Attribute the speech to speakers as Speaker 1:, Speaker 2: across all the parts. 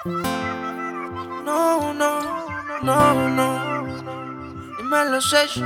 Speaker 1: No, no, no, no. Dímelo, Sesh.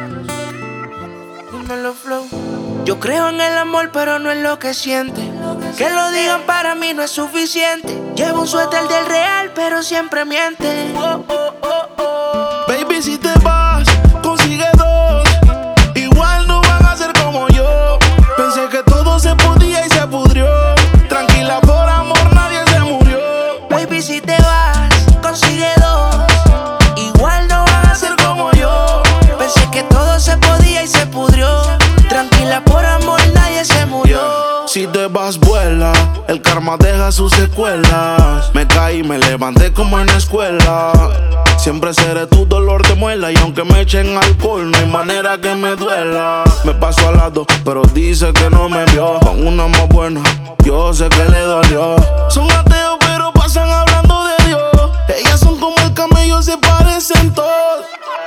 Speaker 1: Dímelo, Flow. Yo creo en el amor, pero no en lo que siente. Que lo digan para mí no es suficiente. Llevo un suéter del real, pero siempre miente. Oh, oh, oh, oh.
Speaker 2: Baby, si te vas, consigue dos. Igual no van a ser como yo. Pensé que todo se podía y se pudrió. Tranquila, por amor nadie se murió.
Speaker 1: Baby, si te vas, consigue dos. Igual no van a ser como yo. Pensé que todo se podía y se pudrió. Tranquila, por amor nadie se murió.
Speaker 2: Si te vas, vuela. El karma deja sus secuelas. Me caí, me levanté como en la escuela. Siempre seré tu dolor de muela. Y aunque me echen alcohol, no hay manera que me duela. Me paso al lado, pero dice que no me vio. Con una más buena, yo sé que le dolió. Son ateos, pero pasan hablando de Dios. Ellas son como el camello, se parecen todos.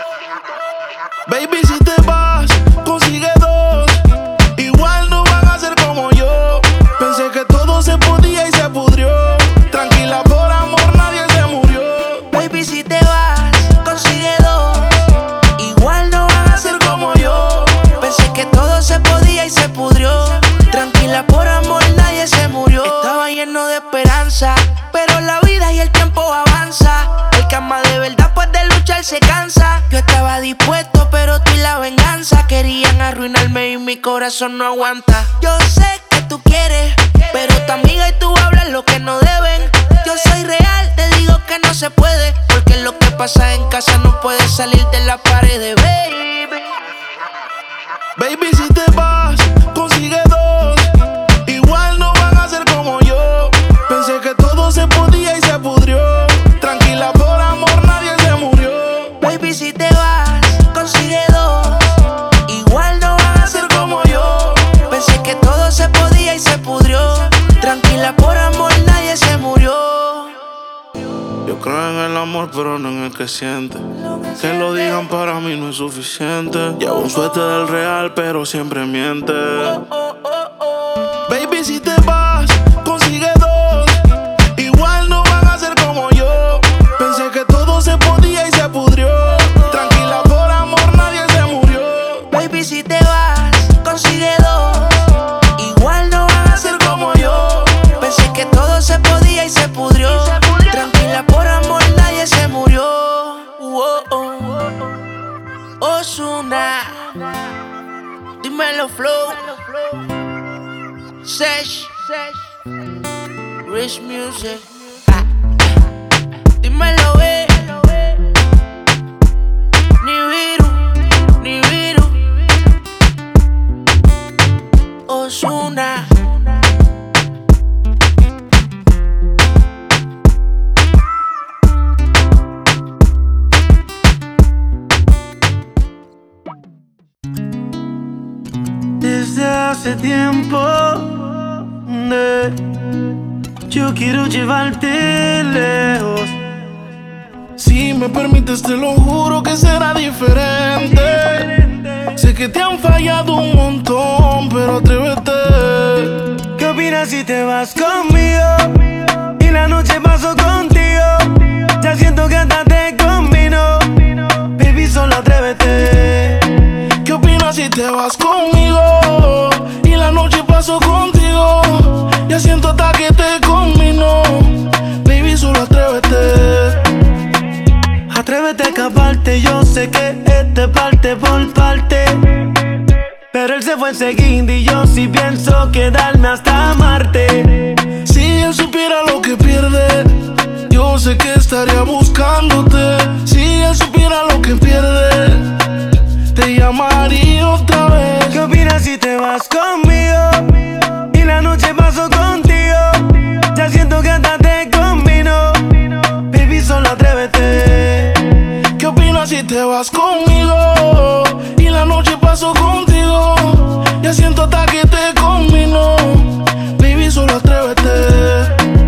Speaker 2: Baby, si te vas, consigue dos. Igual no van a ser como yo. Pensé que todo se podía y se pudrió. Tranquila, por amor nadie se murió.
Speaker 1: Baby, si te vas, consigue dos. Igual no van a ser como yo. Pensé que todo se podía y se pudrió. Tranquila, por amor nadie se murió. Estaba lleno de esperanza, pero la vida y el tiempo avanza. El que ama de verdad pues de luchar se cansa. Yo estaba dispuesto, pero tú y la venganza querían arruinarme y mi corazón no aguanta. Yo sé que tú quieres, pero tu amiga y tú hablan lo que no deben. Yo soy real, te digo que no se puede, porque lo que pasa en casa no puede salir de la pared, baby.
Speaker 2: Baby, si te vas, consigue dos. Igual no van a ser como yo. Pensé que todo se podía y se pudrió. Tranquila, por amor nadie se murió.
Speaker 1: Baby, si te vas, consigue dos. Igual no van a ser como yo. Pensé que todo se podía y se pudrió. Tranquila, por amor nadie se murió.
Speaker 2: Yo creo en el amor, pero no en el que siente. Que lo digan para mí no es suficiente. Llevo un suéter del real, pero siempre miente. Baby, si te vas, consigue dos. Igual no van a ser como yo. Pensé que todo se podía y se pudrió. Tranquila, por amor nadie se murió.
Speaker 1: Baby, si te vas, consigue dos. Igual no van a ser como yo. Pensé que todo se podía y se pudrió. Tranquila, por amor nadie se murió. Ozuna, dímelo, Flow. Sesh, Rich Music. Dímelo, Ni Viru, Ozuna.
Speaker 3: Desde hace tiempo yo quiero llevarte lejos.
Speaker 2: Si me permites te lo juro que será diferente. Sé que te han fallado un montón, pero atrévete.
Speaker 3: ¿Qué opinas si te vas conmigo y la noche paso contigo? Ya siento que hasta te combino. Baby, solo atrévete.
Speaker 2: ¿Qué opinas si te vas conmigo y la noche paso contigo? Ya siento hasta que te combino. Baby, solo atrévete.
Speaker 3: Atrévete a escaparte, yo sé que este parte por parte. Pero él se fue enseguida y yo sí pienso quedarme hasta Marte.
Speaker 2: Si él supiera lo que pierde, yo sé que estaría buscándote. Si él supiera lo que pierde, te llamaría otra vez.
Speaker 3: ¿Qué opinas si te vas conmigo y la noche paso contigo? Ya siento que hasta te combino. Baby, solo atrévete.
Speaker 2: ¿Qué opinas si te vas conmigo y la noche paso contigo? Ya siento hasta que te combino. Baby, solo atrévete.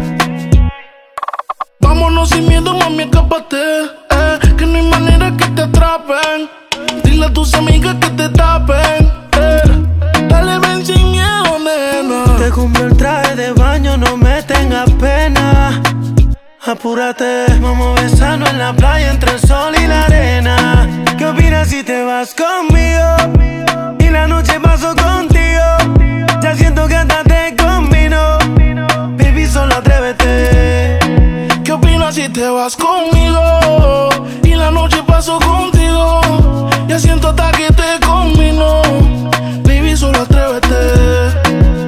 Speaker 2: Vámonos sin miedo, mami, escápate. Que no hay manera que te atrapen. Dile a tus amigas que te tapen. Dale, ven sin miedo, nena.
Speaker 3: Te compro el traje de baño, no me tengas pena. apúrate. Vamos a besarnos en la playa entre el sol y la arena. ¿Qué opinas si te vas conmigo? Y la noche paso contigo. Ya siento que hasta te combino. Baby, solo atrévete.
Speaker 2: ¿Qué opinas si te vas conmigo? Y la noche paso contigo. Ya siento hasta que te combino. Baby, solo atrévete.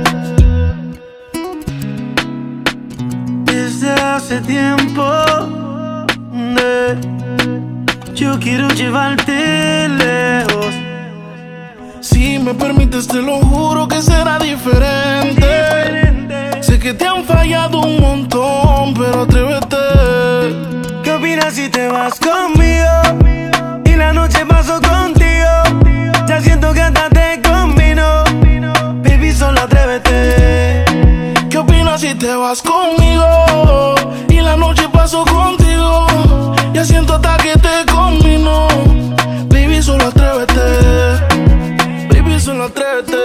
Speaker 3: Desde hace tiempo yo quiero llevarte lejos.
Speaker 2: Si me permites te lo juro que será diferente. Sé que te han fallado un montón, pero atrévete.
Speaker 3: ¿Qué opinas si te vas conmigo? Y la noche paso contigo. Ya siento que hasta te combino. Baby, solo atrévete.
Speaker 2: ¿Qué opinas si te vas conmigo? Y la noche paso contigo. Ya siento hasta que te combino. Baby, solo atrévete. Baby, solo atrévete.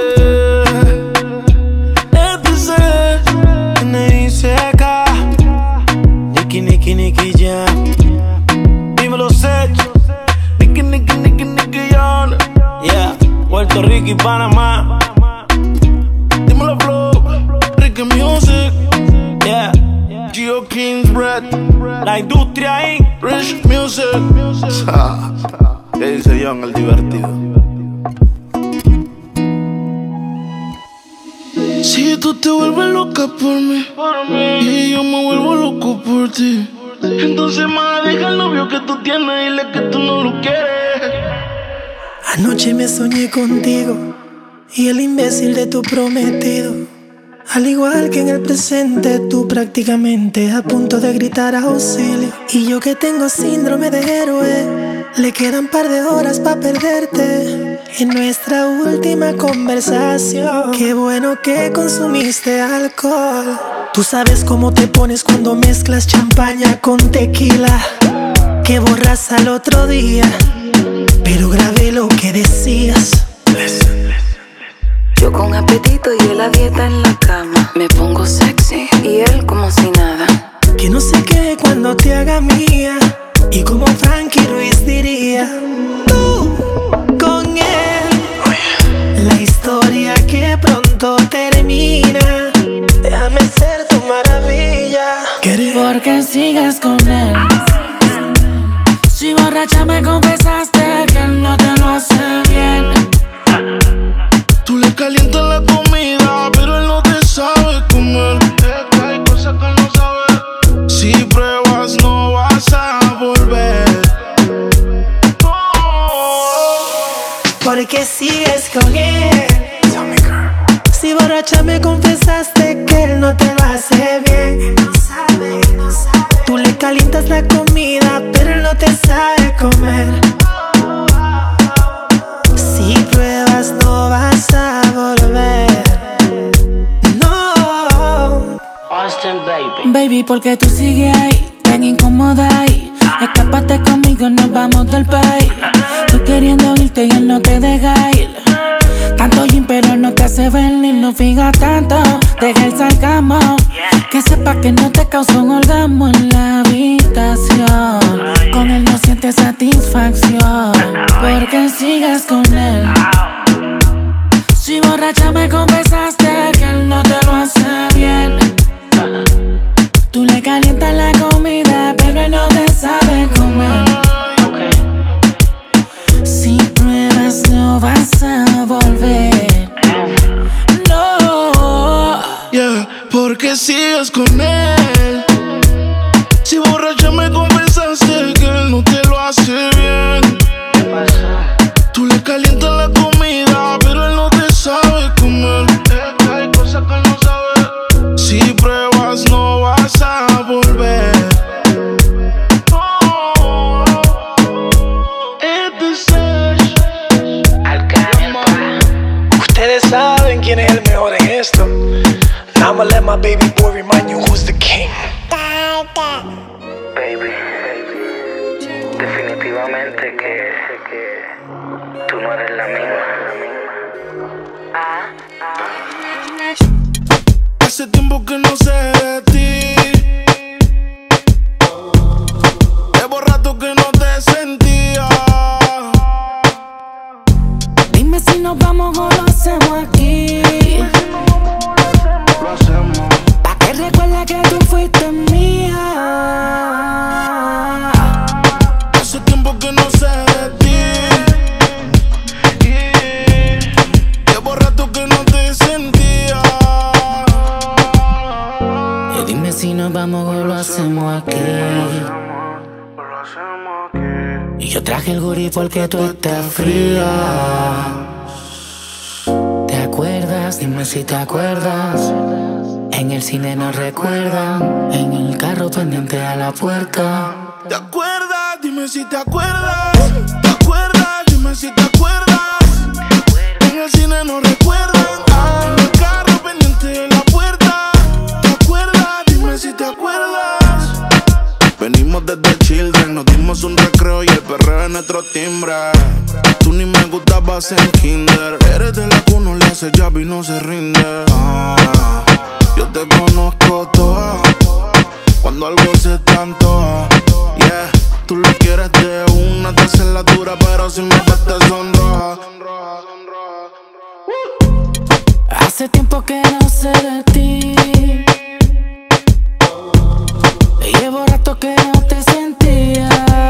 Speaker 3: N.I.C.K. Nicky Jam. Dímelo, Sech.
Speaker 2: Nicky Jam.
Speaker 3: Yeah, Puerto Rico y Panamá.
Speaker 2: Dímelo, Flow. Ricky Music.
Speaker 3: Yeah,
Speaker 2: Geo Kings Bread.
Speaker 3: la industria ahí.
Speaker 2: Rich Music. ¿Qué dice John el divertido? Si tú te vuelves loca por mí y yo me vuelvo loco por ti, entonces más deja el novio que tú tienes y dile que tú no lo quieres.
Speaker 4: Anoche me soñé contigo y el imbécil de tu prometido. Al igual que en el presente, tú prácticamente a punto de gritar auxilio. Y yo que tengo síndrome de héroe, le quedan par de horas pa' perderte. En nuestra última conversación, qué bueno que consumiste alcohol. Tú sabes cómo te pones cuando mezclas champaña con tequila, que borras al otro día, pero grabé lo que decías.
Speaker 5: Yo con apetito y él a dieta en la cama. Me pongo sexy y él como si nada.
Speaker 4: Que no se quede cuando te haga mía. Y como Frankie Ruiz diría, tú con él, la historia que pronto termina. Déjame ser tu maravilla.
Speaker 6: Porque sigues con él. Si borracha me confesaste que él no te lo hace bien.
Speaker 2: Tú le calientas la comida, pero él no te sabe comer. Es que hay cosas que él no sabe. Si pruebas no vas a volver.
Speaker 4: Porque sigues con él. Si borracha me confesaste que él no te lo hace bien. Tú le calientas la comida, pero él no te sabe comer. Si pruebas no vas a volver. No.
Speaker 3: Austin, baby.
Speaker 6: Baby, porque tú sigues ahí, tan incómoda ahí. Escápate conmigo, nos vamos del país. Tú queriendo irte y él no te deja ir. Tanto gym pero no te hace venir. No fijas tanto, deja el sarcasmo. Que sepa que no te causó un orgasmo en la habitación. Con él no sientes satisfacción. Porque sigues con él. Si borracha me confesaste que él no te lo hace bien. Tú le calientas la comida, pero él no te sabe comer. Si pruebas no vas a volver. No.
Speaker 2: Yeah, porque sigues con él. Si borracha me confesaste que él no te lo hace bien. Tú le calientas la comida, pero él no te sabe comer. Es que hay cosas que él no sabe. Si pruebas no vas a volver.
Speaker 4: Ustedes saben quién es el mejor en esto. Now I'ma let my baby boy remind you who's the king.
Speaker 7: Baby, definitivamente que tú no eres la misma.
Speaker 2: Hace tiempo que no sé de ti.
Speaker 6: Dime si nos vamos o lo hacemos aquí. Y yo traje el gurí porque tú estás fría. ¿Te acuerdas? Dime si te acuerdas. En el cine nos recuerdan. En el carro pendiente a la puerta.
Speaker 2: ¿Te acuerdas? Dime si te acuerdas. ¿Te acuerdas? Dime si te acuerdas. En el cine nos recuerdan. En el carro pendiente de la puerta. ¿Te acuerdas? Dime si te acuerdas. Venimos desde Children, nos dimos un recreo y el perreo es nuestro timbre. Tú ni me gustabas en kinder. Eres de la que uno le hace jab y no se rinde. Yo te conozco toda. Cuando algo se te antoja, yeah. Tú lo quieres de una, te haces la dura, pero si me ves te sonroja.
Speaker 6: Hace tiempo que no sé de ti. Llevo rato que no te sentía.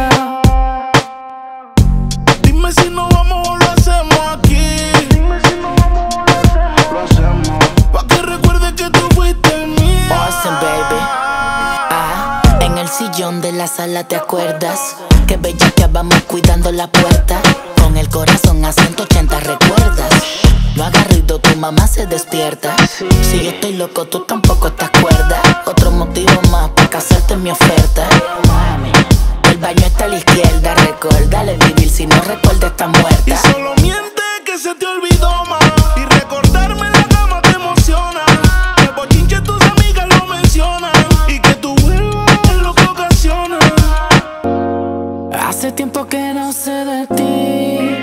Speaker 2: Dime si nos vamos o lo hacemos aquí. Dime si nos vamos o lo hacemos. Pa' que recuerdes que tú fuiste mía.
Speaker 6: Awesome, baby. En el sillón de la sala, ¿te acuerdas? Que bella que vamos cuidando la puerta. Con el corazón a 180, ¿recuerdas? No hagas ruido, tu mamá se despierta. Si yo estoy loco, tú tampoco estás cuerda. Otro motivo más para casarte en mi oferta. El baño está a la izquierda, recuérdale vivir. Si no recuerda, está muerta.
Speaker 2: Y solo miente que se te olvidó más. Y recordarme en la cama te emociona. Que bochinche tus amigas lo mencionan. Y que tú vuelvas es lo que ocasiona.
Speaker 6: Hace tiempo que no sé de ti.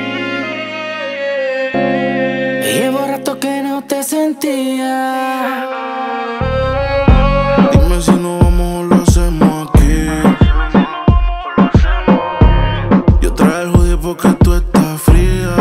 Speaker 6: Llevo rato que no te sentía.
Speaker 2: Dime si nos vamos o lo hacemos aquí. Yo traje el hoodie porque tú estás fría.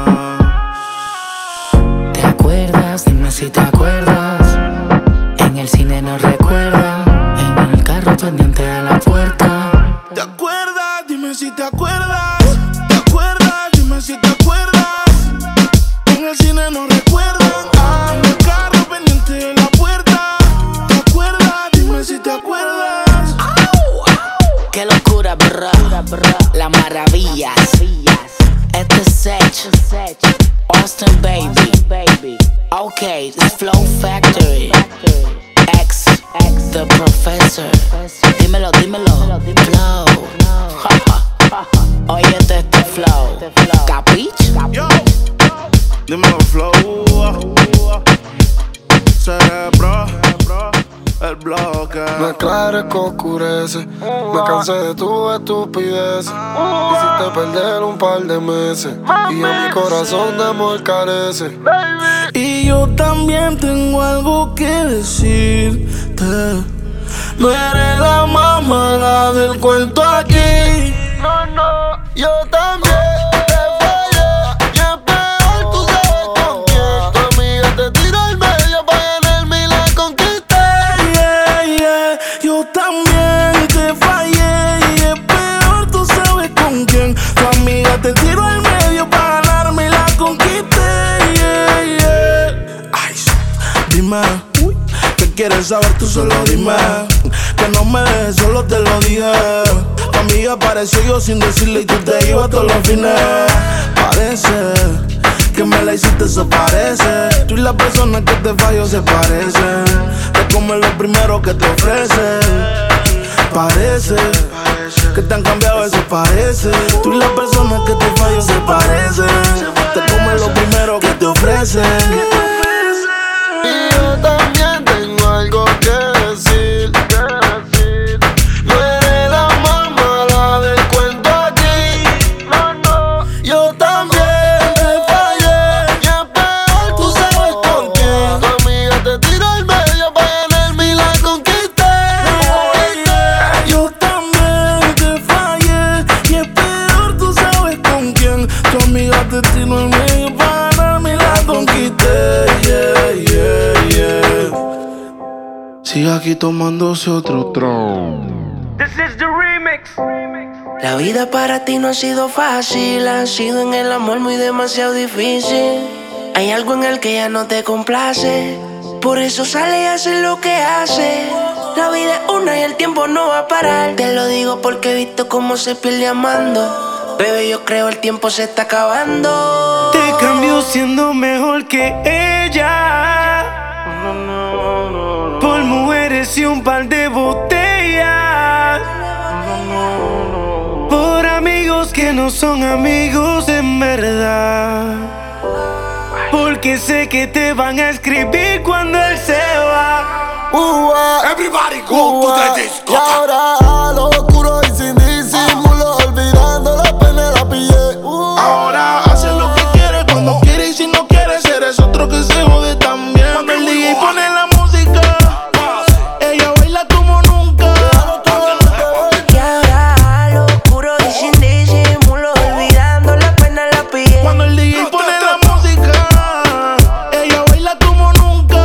Speaker 6: ¿Te acuerdas? Dime si te acuerdas. En el cine nos recuerdan. En el carro pendiente a la puerta.
Speaker 2: ¿Te acuerdas? Dime si te acuerdas. ¿Te acuerdas? Dime si te acuerdas. En el cine nos recuerdan. En el carro pendiente de la puerta. ¿Te acuerdas? Dime si te acuerdas.
Speaker 6: Qué locura, bro. Las maravillas. Este es Sech. Austin, baby. Okay, the Flow Factory. X, the Professor. Dímelo. Flow. Óyete este flow. ¿Capich?
Speaker 2: Yo, dímelo, flow. Cerebro, el bloque.
Speaker 8: Me aclares que oscurece. Me cansé de tu estupidez. Hiciste perder un par de meses. Y a mi corazón de amor carece.
Speaker 2: Y yo también tengo algo que decirte. No eres la más mala del cuento aquí.
Speaker 8: No, yo también te fallé. Y es peor, tú sabes con quién. Tu amiga te tiró al medio para ganarme y la conquisté.
Speaker 2: Yeah. Yo también te fallé. Y es peor, tú sabes con quién. Tu amiga te tiró al medio para ganarme y la conquisté. Yeah. Ay, dime, ¿qué quieres saber? Tú solo dime. Que no me dejes solo, te lo dije. Tu amiga apareció yo sin decirle y tú te ibas todos los fines. Parece que me la hiciste, eso parece. Tú y la persona que te falló se parecen. Te comes lo primero que te ofrecen. Parece que te han cambiado, eso parece. Tú y la persona que te falló se parecen. Te comes lo primero que te ofrecen.
Speaker 8: Y yo también tengo algo que decir. No eres la más mala del cuento aquí. No, yo también te fallé. Y es peor, tú sabes con quién. Tu amiga te tiró al medio para ganarme y la conquisté.
Speaker 2: Yo también te fallé. Y es peor, tú sabes con quién. Tu amiga te tiró al medio para ganarme y la conquisté. Sigue aquí tomándose otro tron.
Speaker 3: This is the remix.
Speaker 1: La vida para ti no ha sido fácil, ha sido en el amor muy demasiado difícil. Hay algo en el que ya no te complace. Por eso sale y hace lo que hace. La vida es una y el tiempo no va a parar. Te lo digo porque he visto cómo se pierde amando. Bebé, yo creo el tiempo se está acabando.
Speaker 3: Te cambio siendo mejor que ella, por mujeres y un par de botellas, por amigos que no son amigos en verdad. Porque sé que te van a escribir cuando él se va.
Speaker 8: Everybody go to the disco. Y ahora a lo oscuro y sin disimulo, olvidando la pena la pillé.
Speaker 2: Ahora hace lo que quiere, cuando quiere y si no quiere, eres otro que se jode también. Cuando el DJ pone la música, ella baila como nunca.
Speaker 1: Y ahora a lo oscuro y sin disimulo, olvidando la pena la pillé.
Speaker 2: Cuando el DJ pone la música, ella baila como nunca.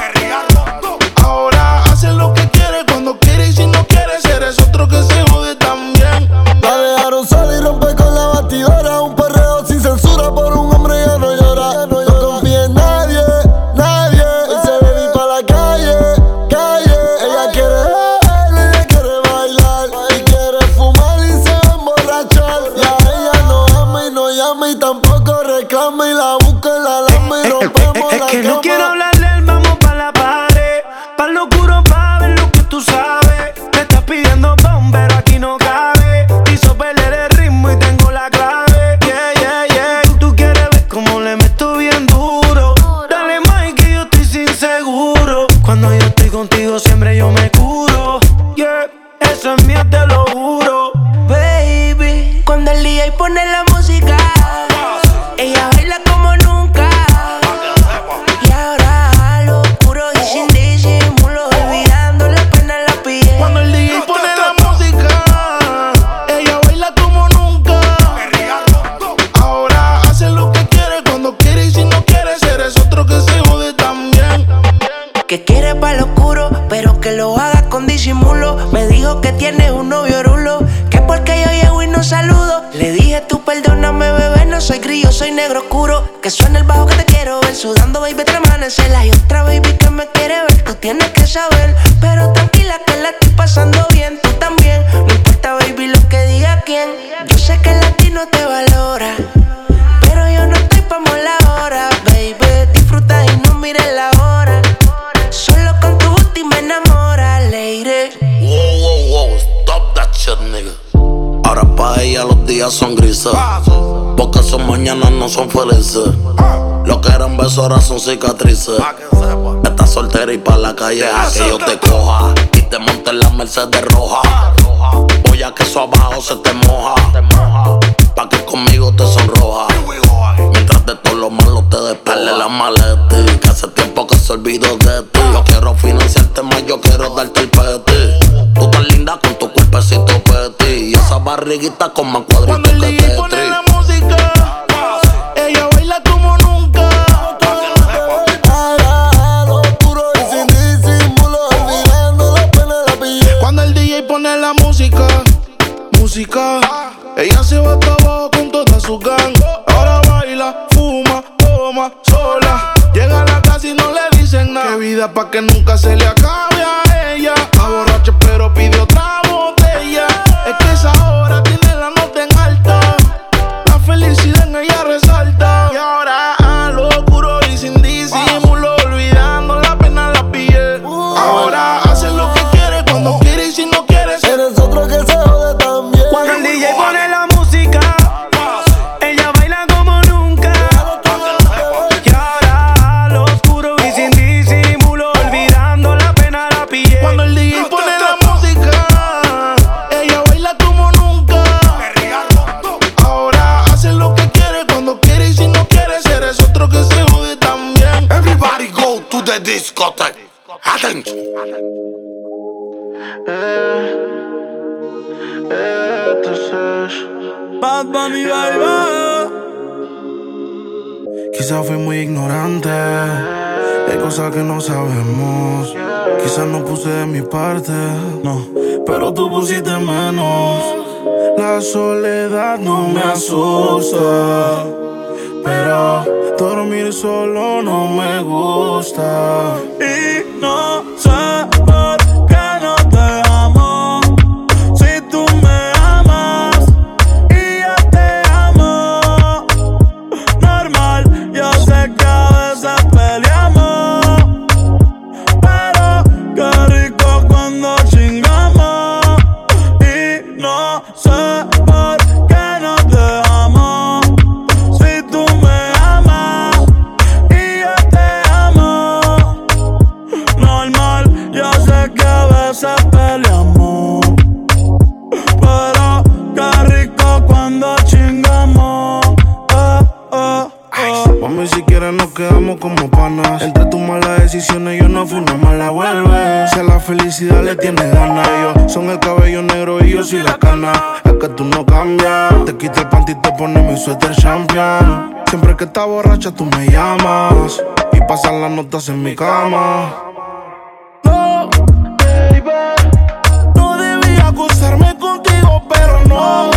Speaker 2: Ahora hace lo que quiere, cuando quiere y si no quiere, eres otro que se jode también.
Speaker 8: La dejaron sola y rompe con la batidora. Un perreo sin censura por un hombre que no llora. No confía en nadie, nadie. Y se debe ir pa' la calle, calle. Ella quiere beber, ella quiere bailar y quiere fumar y se va a emborrachar. Y a ella no ama y no llama y tampoco reclama y la busca en la lama y rompemos la
Speaker 3: Que
Speaker 8: cama.
Speaker 3: no quiero hablarle, vamos pa' la pared, pa' lo oscuro pa' ver lo que tú sabes. Me estás pidiendo bombero, aquí no cabe. Hizo perder el ritmo y tengo la clave. Yeah, yeah, yeah. Tú quieres ver cómo le meto bien duro. Dale más que yo estoy sin seguro. Cuando yo estoy contigo siempre yo me curo. Yeah, eso es mío, te lo juro.
Speaker 1: Baby, cuando el DJ pone la música, ella baila como nunca. Y ahora a lo oscuro y sin disimulo, olvidando la pena la pillé.
Speaker 2: Cuando el DJ pone la música, ella baila como nunca. Ahora hace lo que quiere, cuando quiere y si no quiere, eres otro que se jode también.
Speaker 1: Que quiere pa' lo oscuro, pero que lo haga con disimulo. Me dijo que tienes un novio rulo, que porque yo llego y no saludo. Le dije tú perdóname bebé, no soy grillo, soy negro oscuro. Que suena el bajo que te quiero ver, sudando baby te amanecela. Y otra baby que me quiere ver, tú tienes que saber. Pero tranquila que la estoy pasando bien, tú también. No importa baby lo que diga quién. Yo sé que el latino te valora, pero yo no estoy pa' mola ahora. Baby, disfruta y no mires la hora. Solo con tu booty me enamora, lady.
Speaker 9: Wow, stop that shit, nigga. Ahora pa' ella los días son grises, porque sus mañanas no son felices. Lo que eran besos ahora son cicatrices. Estás soltera y pa' la calle a que yo te coja y te monte en la Mercedes roja. Voy a que eso abajo se te moja, pa' que conmigo te sonroja. Mientras de todo lo malo te despele la maleta, que hace tiempo que se olvidó de ti. Yo quiero financiarte más, yo quiero darte el peti. Tú tan linda con tu cuerpecito peti y esa barriguita con más cuadritos
Speaker 2: Cuando el
Speaker 9: que
Speaker 2: DJ pone
Speaker 9: Tetris.
Speaker 2: la música, ella baila como nunca.
Speaker 8: Ahora a lo oscuro y sin disimulo, olvidando la pena la pillé.
Speaker 2: Cuando el DJ pone la música, ella se va hasta abajo con toda su gang. Ahora baila, fuma, toma, sola. Llega a la casa y no le dicen nada. Qué vida pa' que nunca se le acabe a ella. Está borracha pero pide otra botella. Es que esa hora tiene la nota en alta. La felicidad en ella resalta. Y ahora a lo oscuro y sin disimulo, olvidando la pena la pillé. Ahora hace lo que quiere, cuando quiere y si no quiere,
Speaker 8: eres otro que se jode también.
Speaker 3: Cuando el DJ pone la música, ella baila como nunca. Y ahora a lo oscuro y sin disimulo, olvidando la pena la pillé.
Speaker 2: Cuando el DJ pone la música, ella baila como nunca. Ahora hace lo que quiere, cuando quiere y si no quiere, eres otro que se jode también.
Speaker 9: Everybody go to the discotheque. Attention.
Speaker 3: Bad Bunny, baby.
Speaker 2: Quizás fui muy ignorante, hay cosas que no sabemos. Quizás no puse de mi parte, no, pero tú pusiste menos. La soledad no me asusta, pero Dormir solo no me gusta.
Speaker 3: Y no sé por qué no te amo. Si tú me amas y yo te amo. Normal, yo sé que a veces peleamos, pero qué rico cuando chingamos. Y no sé por qué no te amo. Si tú me amas y yo te amo. Normal, yo sé que a veces peleamos, pero qué rico cuando chingamos.
Speaker 2: Mami, si quieres nos quedamos como panas. Entre tus malas decisiones yo no fui una mala vuelve. Si a la felicidad le tienes ganas, ellos son el cabello negro y yo soy la cana. Es que tú no cambias. Te quita el panty y te pones mi suéter champion. Siempre que estás borracha tú me llamas y pasan las notas en mi cama. No, baby, no debía acostarme contigo, pero no.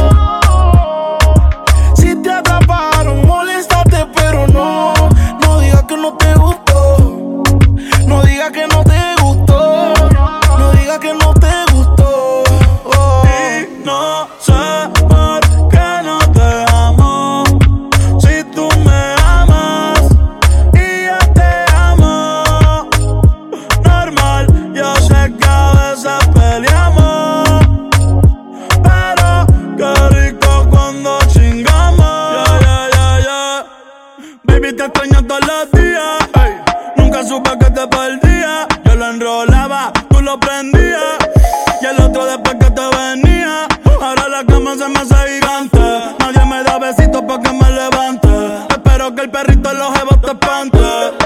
Speaker 2: Si te atraparon, moléstate, pero no. No digas que no te gustó. No digas que no te gustó. No digas que no te gustó.
Speaker 3: Y no sé por qué no te amo. Si tú me amas y yo te amo. Normal, yo sé que a veces peleamos, pero qué rico cuando chingamos. Baby, te extraño todos los días. Ey, nunca supe que te perdía. Yo lo enrolaba, tú lo prendías, y el otro después que te venía. Ahora la cama se me hace gigante. Nadie me da besitos pa' que me levante. Espero que el perrito en los jebos te espante.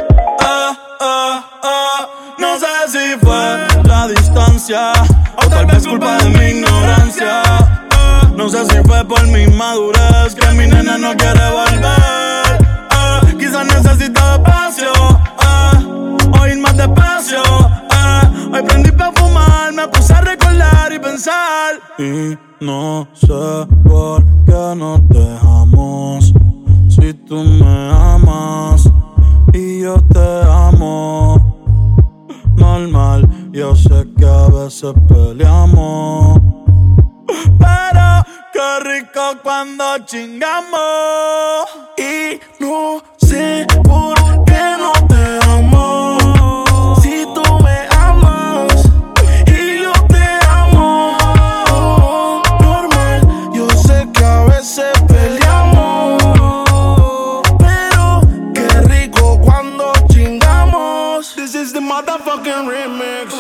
Speaker 3: No sé si fue la distancia o tal vez culpa de mi ignorancia. No sé si fue por mi madurez que mi nena no quiere volver. Quizás necesita espacio, o ir más despacio. Hoy prendí pa' fumar, me puse a recordar y pensar. Y no sé por qué nos dejamos. Si tú me amas y yo te amo. Normal, yo sé que a veces peleamos, pero qué rico cuando chingamos.
Speaker 2: Y no sé por qué no te amo. Si tú me amas y yo te amo. Normal, yo sé que a veces peleamos, pero qué rico cuando chingamos. This is the motherfucking remix.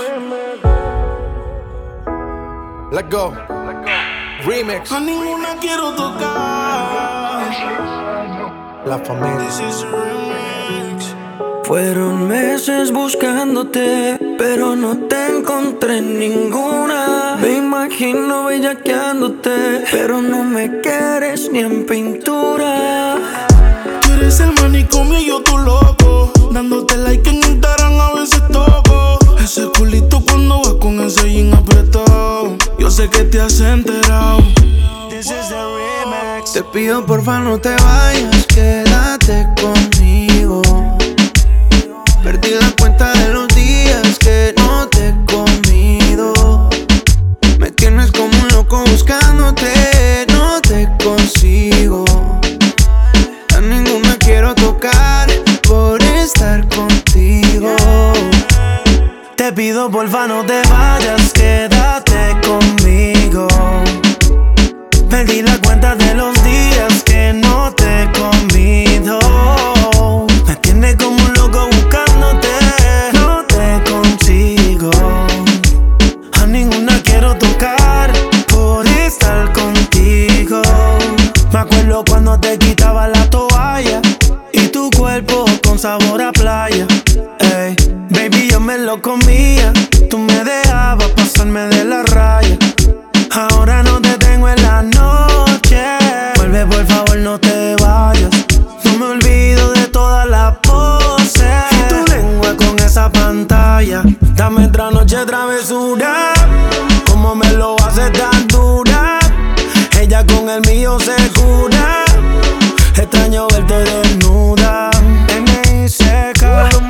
Speaker 10: Let go. Remix.
Speaker 2: A ninguna quiero tocar.
Speaker 10: La familia.
Speaker 2: This is a remix.
Speaker 11: Fueron meses buscándote, pero no te encontré en ninguna. Me imagino bellaqueándote, pero no me quieres ni en pintura.
Speaker 2: Tú eres el manicomio y yo tu loco. Dándote like en Instagram a veces toco. Ese culito cuando vas con ese jean apretado. Yo sé que te has enterado.
Speaker 11: This is the remix. Te pido porfa no te vayas, quédate conmigo. Perdí la cuenta de los días que no te he comido. Me tienes como un loco buscándote, no te consigo. A ninguna quiero tocar por estar contigo. Te pido porfa no te vayas, quédate conmigo. Perdí la cuenta de los días que no te he comido. Me tienes como un loco buscándote, no te consigo. A ninguna quiero tocar por estar contigo. Me acuerdo cuando te quitaba la toalla y tu cuerpo con sabor a playa. Ey, baby, yo me lo comía, tú me dejabas pasarme de la raya. Ahora no te tengo en la noche. Vuelve por favor, no te vayas. No me olvido de todas las poses y tu lengua con esa pantalla. Dame otra noche travesura, como me lo hace tan dura. Ella con el mío se cura. Extraño verte desnuda.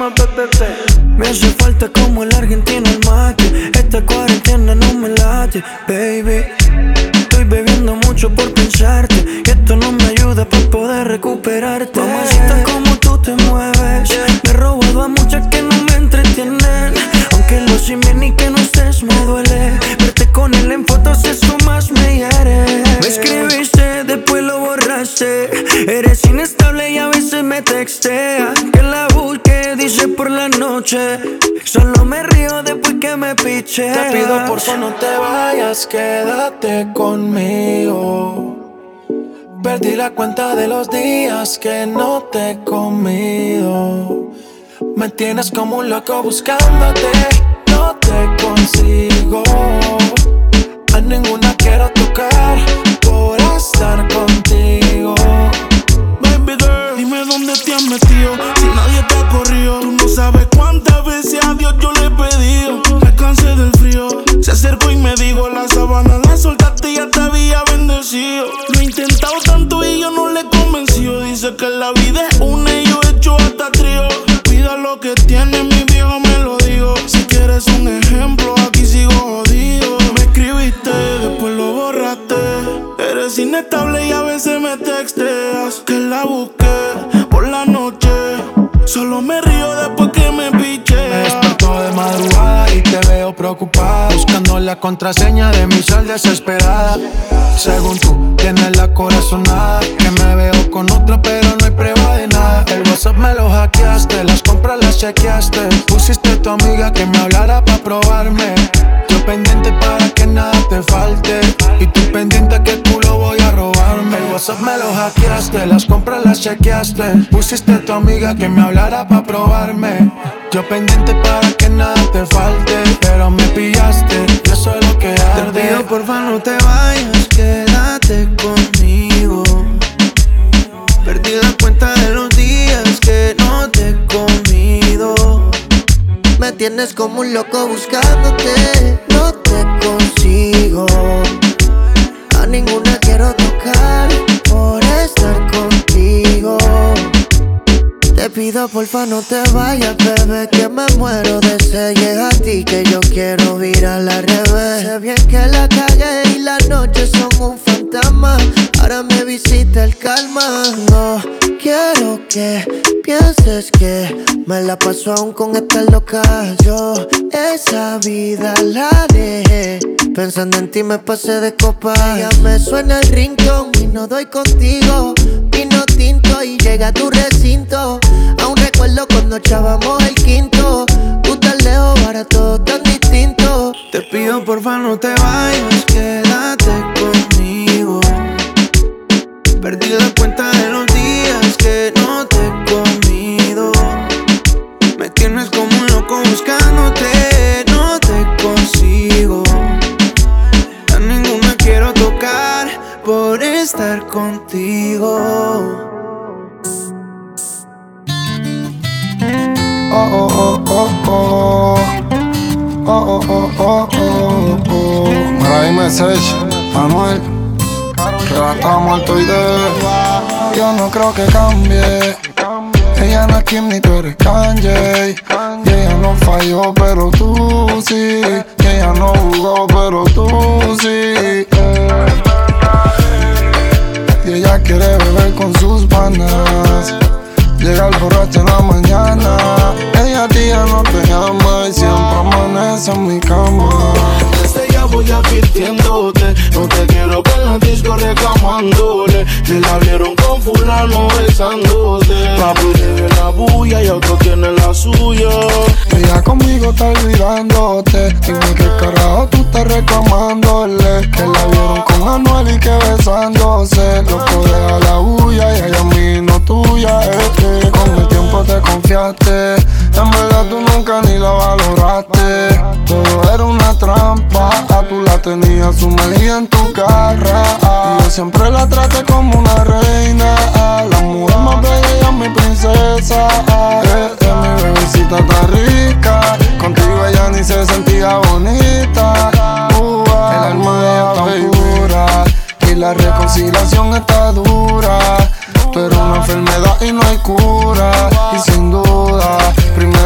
Speaker 11: llama PPP. Me hace falta como el argentino el mate. Esta cuarentena no me late, baby. Estoy bebiendo mucho por pensarte y esto no me ayuda para poder recuperarte. Mamacita, como tú te mueves, me he robado a muchas que no me entretienen. Aunque lo sin bien y que no estés me duele. Verte con él en fotos eso más me hiere. Me escribiste, después lo borraste. Eres inestable y a veces me textea. Que la busque, dice por la noche. Solo me río después que me piche.
Speaker 3: Te pido por favor no te vayas, quédate conmigo. Perdí la cuenta de los días que no te he comido. Me tienes como un loco buscándote, no te consigo. A ninguna quiero tocar por estar contigo.
Speaker 2: Baby girl, dime dónde te has metido. Si nadie te ha corrido, tú no sabes cuántas veces a Dios yo le he pedido. Me cansé del frío, se acercó y me dijo: la sábana la soltaste y ya te había bendecido. Lo he intentado tanto y yo no le he convencido. Dice que la vida es una y yo he hecho hasta trío. Pida lo que tiene, mi viejo me lo digo. Si quieres un ejemplo, aquí sigo jodido. Me escribiste, después lo borraste. Eres inestable y a veces me texteas. Que la busqué por la noche. Solo me río después que me piche.
Speaker 3: Me despertó de madrugada y te veo preocupada, buscando la contraseña de mi sal desesperada. Según tú, tienes la corazonada. Que me veo con otra pero no hay prueba de nada. El WhatsApp me lo hackeaste, las compras las chequeaste. Pusiste a tu amiga que me hablara pa' probarme. Yo pendiente para que nada te falte y tú pendiente que tú lo voy a robarme. El WhatsApp me lo hackeaste, las compras las chequeaste. Pusiste a tu amiga que me hablara pa' probarme. Yo pendiente para que nada te falte, pero me pillaste y eso es lo que arde.
Speaker 11: Te pido porfa no te vayas, quédate conmigo. Perdí la cuenta de los días que no te he comido. Me tienes como un loco buscándote, no te consigo. A ninguna quiero tocar por estar contigo. Te pido porfa no te vayas, bebé, que me muero de sed. Llega a ti que yo quiero virar al revés. Sé bien que la cagué y las noches son un fantasma. Ahora me visita el calma. No quiero que pienses que me la paso aún con esta loca. Yo esa vida la dejé, pensando en ti me pasé de copa. Ya me suena el ringtone y no doy contigo. Vino tinto y llega a tu recinto. Aún recuerdo cuando echábamos el quinto. Tú tan lejos, ahora todo tan distinto.
Speaker 3: Te pido porfa no te vayas, quédate conmigo. Perdí la cuenta de los días que no te he comido. Me tienes como un loco buscándote, no te consigo. A ninguna quiero tocar por estar contigo.
Speaker 8: Oh, oh, oh, oh, oh. Oh, oh, oh, oh, oh, oh. Mira, dime, Sech, Manuel, que va a estar muerto y yo no creo que cambie. Ella no es Kim ni tú eres Kanye. Y ella no falló, pero tú sí. Y ella no jugó, pero tú sí. Y ella quiere beber con sus panas, llegar borracha en la mañana. Ella a ti ya no te llama y siempre amanece en mi cama.
Speaker 2: Desde ya voy advirtiéndote, no te quiero ver en la disco reclamándole. Que la vieron con fulano besándote. Papi tiene la bulla y otro tiene la suya.
Speaker 8: Ella conmigo está olvidándote. Dime qué carajo tú estás reclamándole. Que la vieron con Anuel y que besándose. Loco deja la bulla y ella a mí no tuya. Con el tiempo te confiaste. En verdad tú nunca ni la valoraste. Todo era una trampa. Tú la tenías sumergida en tu garra. Y yo siempre la traté como una reina. La mujer más bella ella es mi princesa. Mi bebecita está rica. Contigo ella ni se sentía bonita. El alma de ella tan pura y la reconciliación está dura. Pero una enfermedad y no hay cura. Y sin duda, primero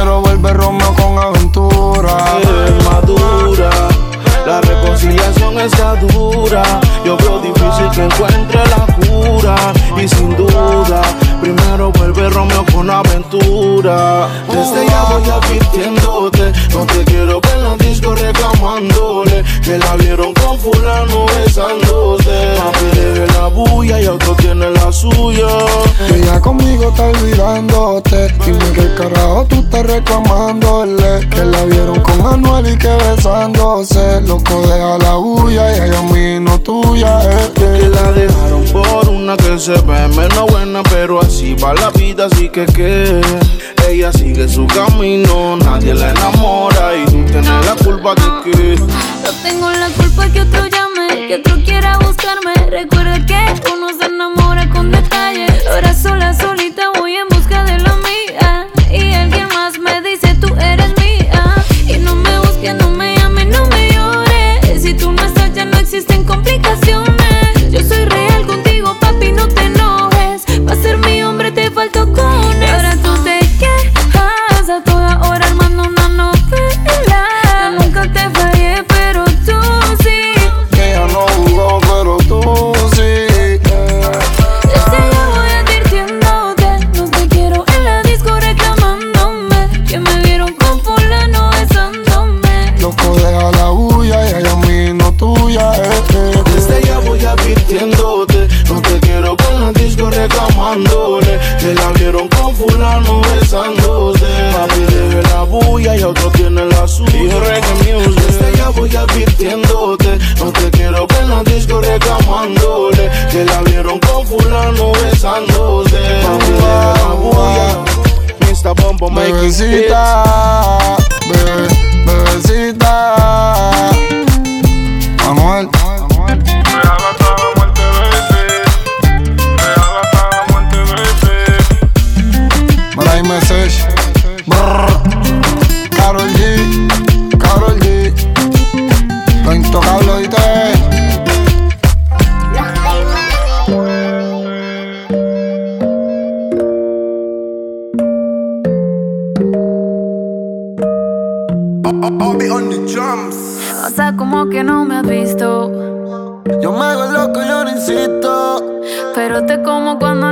Speaker 2: reclamándole que la vieron con fulano besándose. Papi debe la bulla y otro tiene la suya.
Speaker 8: Ella conmigo está olvidándote. Dime qué carajo tú estás reclamándole que la vieron con Anuel y que besándose. Loco, deja la bulla y ella a mí no tuya.
Speaker 2: Que la dejaron por una que se ve menos buena, pero así va la vida, así que ella sigue su camino, nadie la enamora y tú tienes la culpa de que
Speaker 12: yo tengo la culpa que otro llame, que otro quiera buscarme. Recuerda que uno se enamora con detalles. Ahora sola, solita voy en busca de la mía, y alguien más me dice tú eres mía. Y no me busques, no me llames, no me llores. Si tú no estás ya no existen complicaciones. Yo soy real contigo, papi, no te enojes. Para ser mi hombre te faltó con él. Ahora tú te quejas a toda hora armando una novela. Yo nunca te fallé, pero tú sí.
Speaker 8: Ella no jugó, pero tú sí.
Speaker 12: Desde ya voy advirtiéndote, no te quiero en la disco reclamándome que me vieron con fulano besándome.
Speaker 8: Loco, deja la bulla y ella a mí no tuya.
Speaker 2: Desde ya voy advirtiéndote, no te quiero con la disco reclamándole que la vieron con fulano besándose. Papi debe la bulla y otro tiene la suya. Desde ya voy advirtiéndote, no te quiero con la disco reclamándole que la vieron con fulano besándose. Papi debe la bulla. Mr. Bombo making hits.
Speaker 8: Bebecita, bebecita Anuel. Maray Message, Karol G, lo intocable, ¿oíste?
Speaker 12: O sea, como que no me has visto.
Speaker 8: Yo me hago loco, yo no insisto,
Speaker 12: pero te como cuando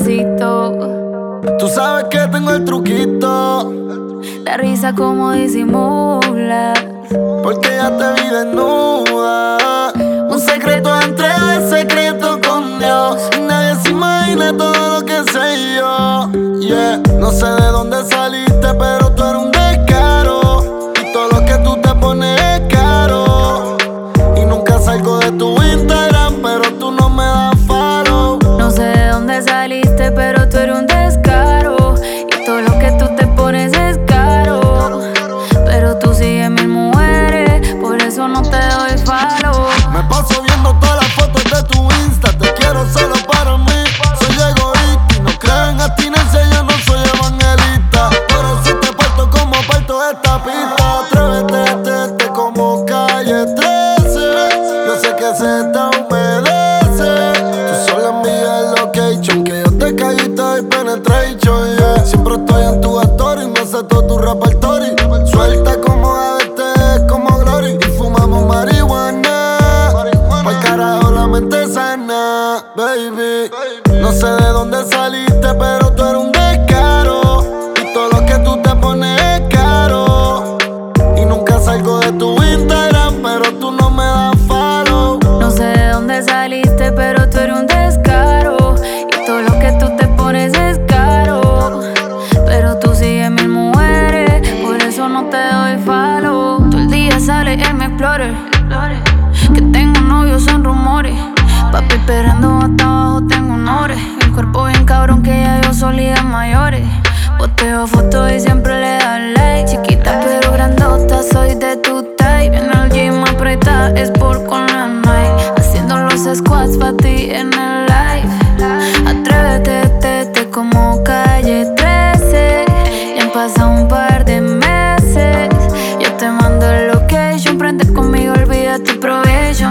Speaker 12: necesito.
Speaker 8: Tú sabes que tengo el truquito.
Speaker 12: La risa como disimulas,
Speaker 8: porque ya te vi desnuda. Un secreto entre el secreto con Dios. Y nadie se imagina todo lo que sé yo. Yeah, no sé de dónde saliste, pero tú eres un descaro. Y todo lo que tú te pones es caro. Y nunca salgo de tu Instagram, pero tú no me das follow.
Speaker 12: No sé de dónde saliste, pero tú eres un descaro. Y todo lo que tú te pones es caro. Pero tú sigues mil mujeres, por eso no te doy follow.
Speaker 8: Me paso viendo todas las fotos de tu Insta. Te quiero solo para mí. Soy egoísta y no creo en abstinencia. Yo no soy evangelista, pero si te parto como parto esta pista. Atrévete, como Calle 13. Yo sé que se te humedece. Tú solo envías el location, que yo te caí y te doy penetration, yeah. Siempre estoy en tu story y me sé todo tu repertorio. Suelta como ABT, como Glory. Y fumamos marihuana, pa'l carajo la mente sana, baby. No sé de dónde saliste, pero tú eres un descaro. Y todo lo que tú te pones es caro. Y nunca salgo de tu Instagram, pero tú no me das follow.
Speaker 12: No sé de dónde saliste, pero tú eres un descaro. Y todo lo que tú te pones es caro. Pero tú sigues mil mujeres, por eso no te doy follow. Todo el día sale en mi Explorer, que tengo novio son rumores. Papi esperando hasta abajo tengo honores. El cuerpo bien cabrón que ya yo solía mayores. Posteo fotos y siempre le dan like. Chiquita pero grandota, soy de tu type. En el gym aprieta, es por con la Nike. Haciendo los squats pa' ti en el live. Atrévete, como Calle 13. Ya han pasado un par de meses. Yo te mando el location, prende conmigo, olvida tu probation.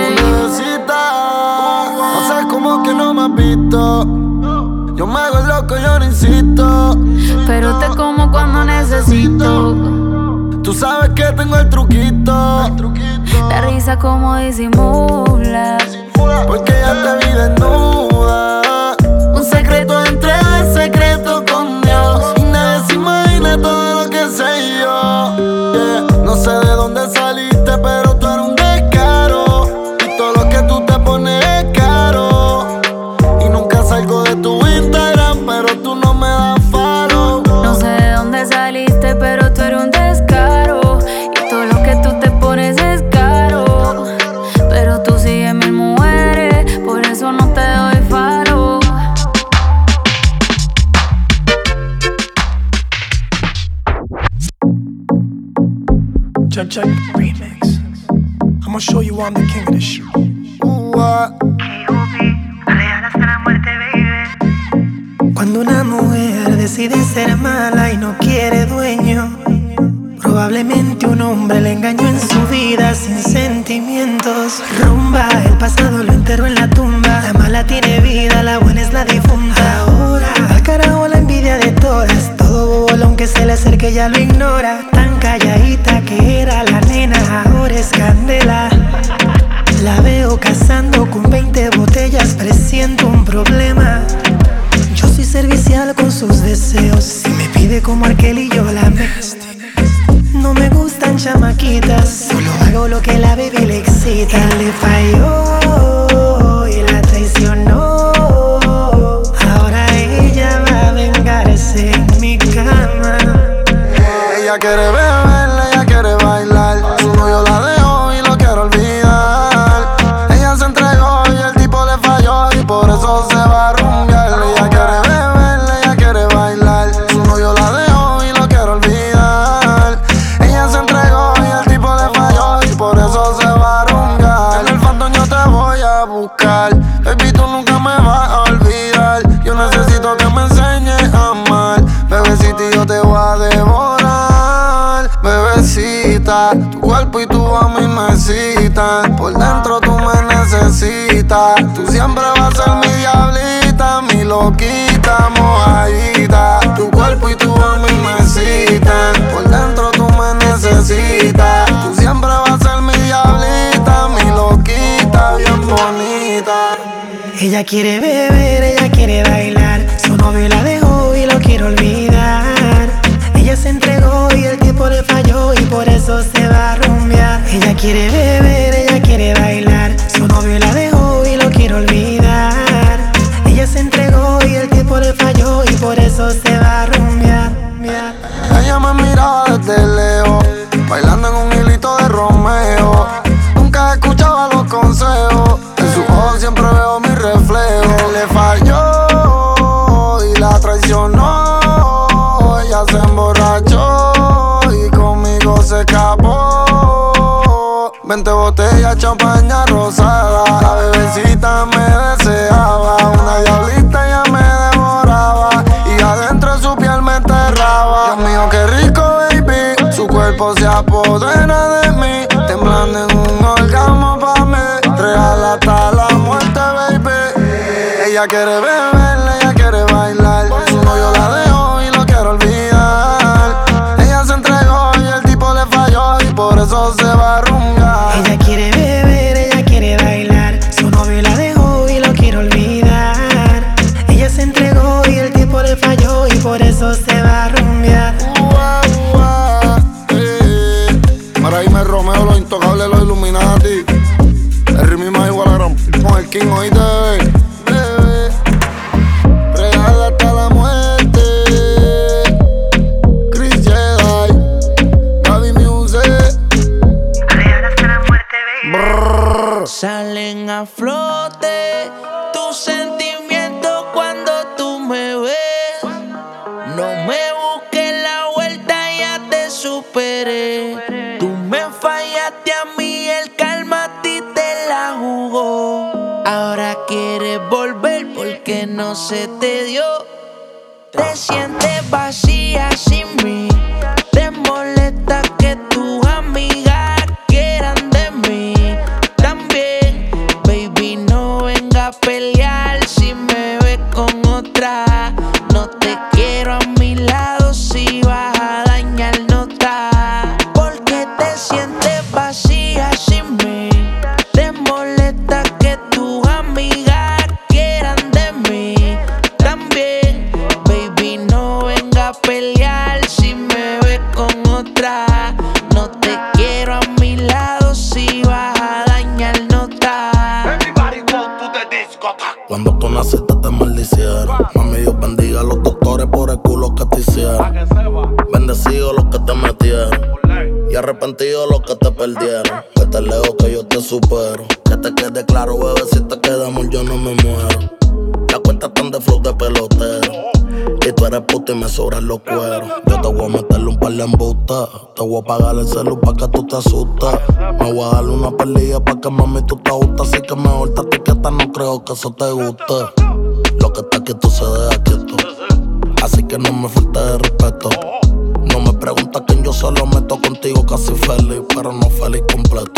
Speaker 8: No sé cómo que no me has visto. Yo me hago loco, yo no insisto,
Speaker 12: pero te como cuando necesito.
Speaker 8: Tú sabes que tengo el truquito.
Speaker 12: La risa como disimula,
Speaker 8: porque ya te vi desnuda. Un secreto entre el secreto con Dios. Y nadie se imagina todo lo que sé yo, yeah. No sé de dónde saliste, pero
Speaker 4: I'ma show you I'm the king of this shit.
Speaker 12: Real hasta la muerte, baby.
Speaker 4: Cuando una mujer decide ser mala y no quiere dueño, probablemente un hombre le engañó en su vida sin sentimientos. Rumba, el pasado lo enterró en la tumba. La mala tiene vida, la buena es la difunta. Ahora, al carajo la envidia de todas. Todo bolón que se le acerque ya lo ignora. Tan calladita que era la nena, ahora es candela. La veo cazando con 20 botellas, presiento un problema. Yo soy servicial con sus deseos. Si me pide como aquel y yo la me. No me gustan chamaquitas, solo hago lo que la baby le excita. Él le falló y la traicionó. Ahora ella va a vengarse en mi cama.
Speaker 8: Ella quiere beber, ella quiere bailar. Su novio la dejó y lo quiere olvidar. Ella se entregó y el tipo le falló y por eso se va a rumbear. Ella quiere beber, ella quiere bailar. Su novio la dejó y lo quiere olvidar. Ella se entregó y el tipo le falló y por eso se va a rumbear. En el fandom yo te voy a buscar. Baby, tú nunca me vas a olvidar. Yo necesito que me enseñes a amar. Bebecita, yo te voy a devorar. Bebecita, tu cuerpo y tu a mí me citan. Por dentro tú me necesitas. Tú siempre vas a ser mi diablita, mi loquita, mojadita. Tu cuerpo y tu a mí me citan. Por dentro tú me necesitas. Tú siempre vas a ser mi diablita, mi loquita, bien bonita.
Speaker 4: Ella quiere beber, ella quiere bailar. Su novio la dejó y lo quiere olvidar. Ella se entregó y el tipo le falló y por eso se va a rumbear. Ella quiere beber, ella quiere bailar. Su novio la dejó y lo quiere olvidar. Ella se entregó y el tipo le falló y por eso se va a rumbear.
Speaker 8: Ella me miraba desde lejos, bailando en un hilito de Romeo. Nunca escuchaba los consejos, en sus ojos siempre veo mi reflejo. Le falló y la traicionó. Ella se emborrachó y conmigo se escapó. 20 botellas, champaña rosada. La bebecita me deseaba. Una diablita ya me devoraba y adentro de su piel me enterraba. Dios mío, qué rico, baby. Su cuerpo se apodera de mí, temblando en un orgasmo pa' mí. Real hasta la muerte, baby. Ella quiere beber, ella quiere bailar. Su novio la dejó y lo quiere olvidar. Ella se entregó y el tipo le falló y por eso se va a rumbear.
Speaker 4: Ella quiere beber, ella quiere bailar. Su novio la dejó y lo quiere olvidar. Ella se entregó y el tipo le falló y por eso se va a rumbear.
Speaker 8: Para irme Romeo, los intocables, los Illuminati. El ritmo más igual a gran con el King, oíste, bebé. Real hasta la muerte. Chris Jedi, Gaby Music.
Speaker 12: Real hasta la muerte, baby.
Speaker 1: Salen a flote tus sentimientos cuando tú me ves. No me busques la vuelta, ya te superé. Tú me fallaste a mí, el karma a ti te la jugó. Ahora quieres volver porque no se te dio. Te sientes vacía sin mí. Te molesta que tus amigas quieran de mí. También, baby, no venga a pelear si me ves con otra. No te quiero a mi lado, si vas a dañar nota. Porque te sientes vacía sin mí. Te molesta que tus amigas quieran de mí. También, baby, no venga a pelear si me ves con otra. No te quiero a mi lado, si vas a dañar nota.
Speaker 9: Cuando tú naciste te maldicieron. Mami, Dios bendiga a los doctores por el culo que te hicieron. Bendecidos los que te metieron y arrepentidos los que te perdieron. Que te leo que yo te supero. Que te quede claro, bebé, si te quedamos yo no me muero. La cuenta tan de flow de pelotero. Y tú eres puta y me sobran los cueros. Yo te voy a meterle un par de embustas. Te voy a pagar el celu pa' que tú te asustes. Me voy a darle una pelilla pa' que mami tú te gustas. Así que mejor te etiqueta, no creo que eso te guste. Lo que está quieto se deja quieto. Así que no me falte de respeto. No me preguntas quién yo solo meto contigo casi feliz, pero no feliz completo.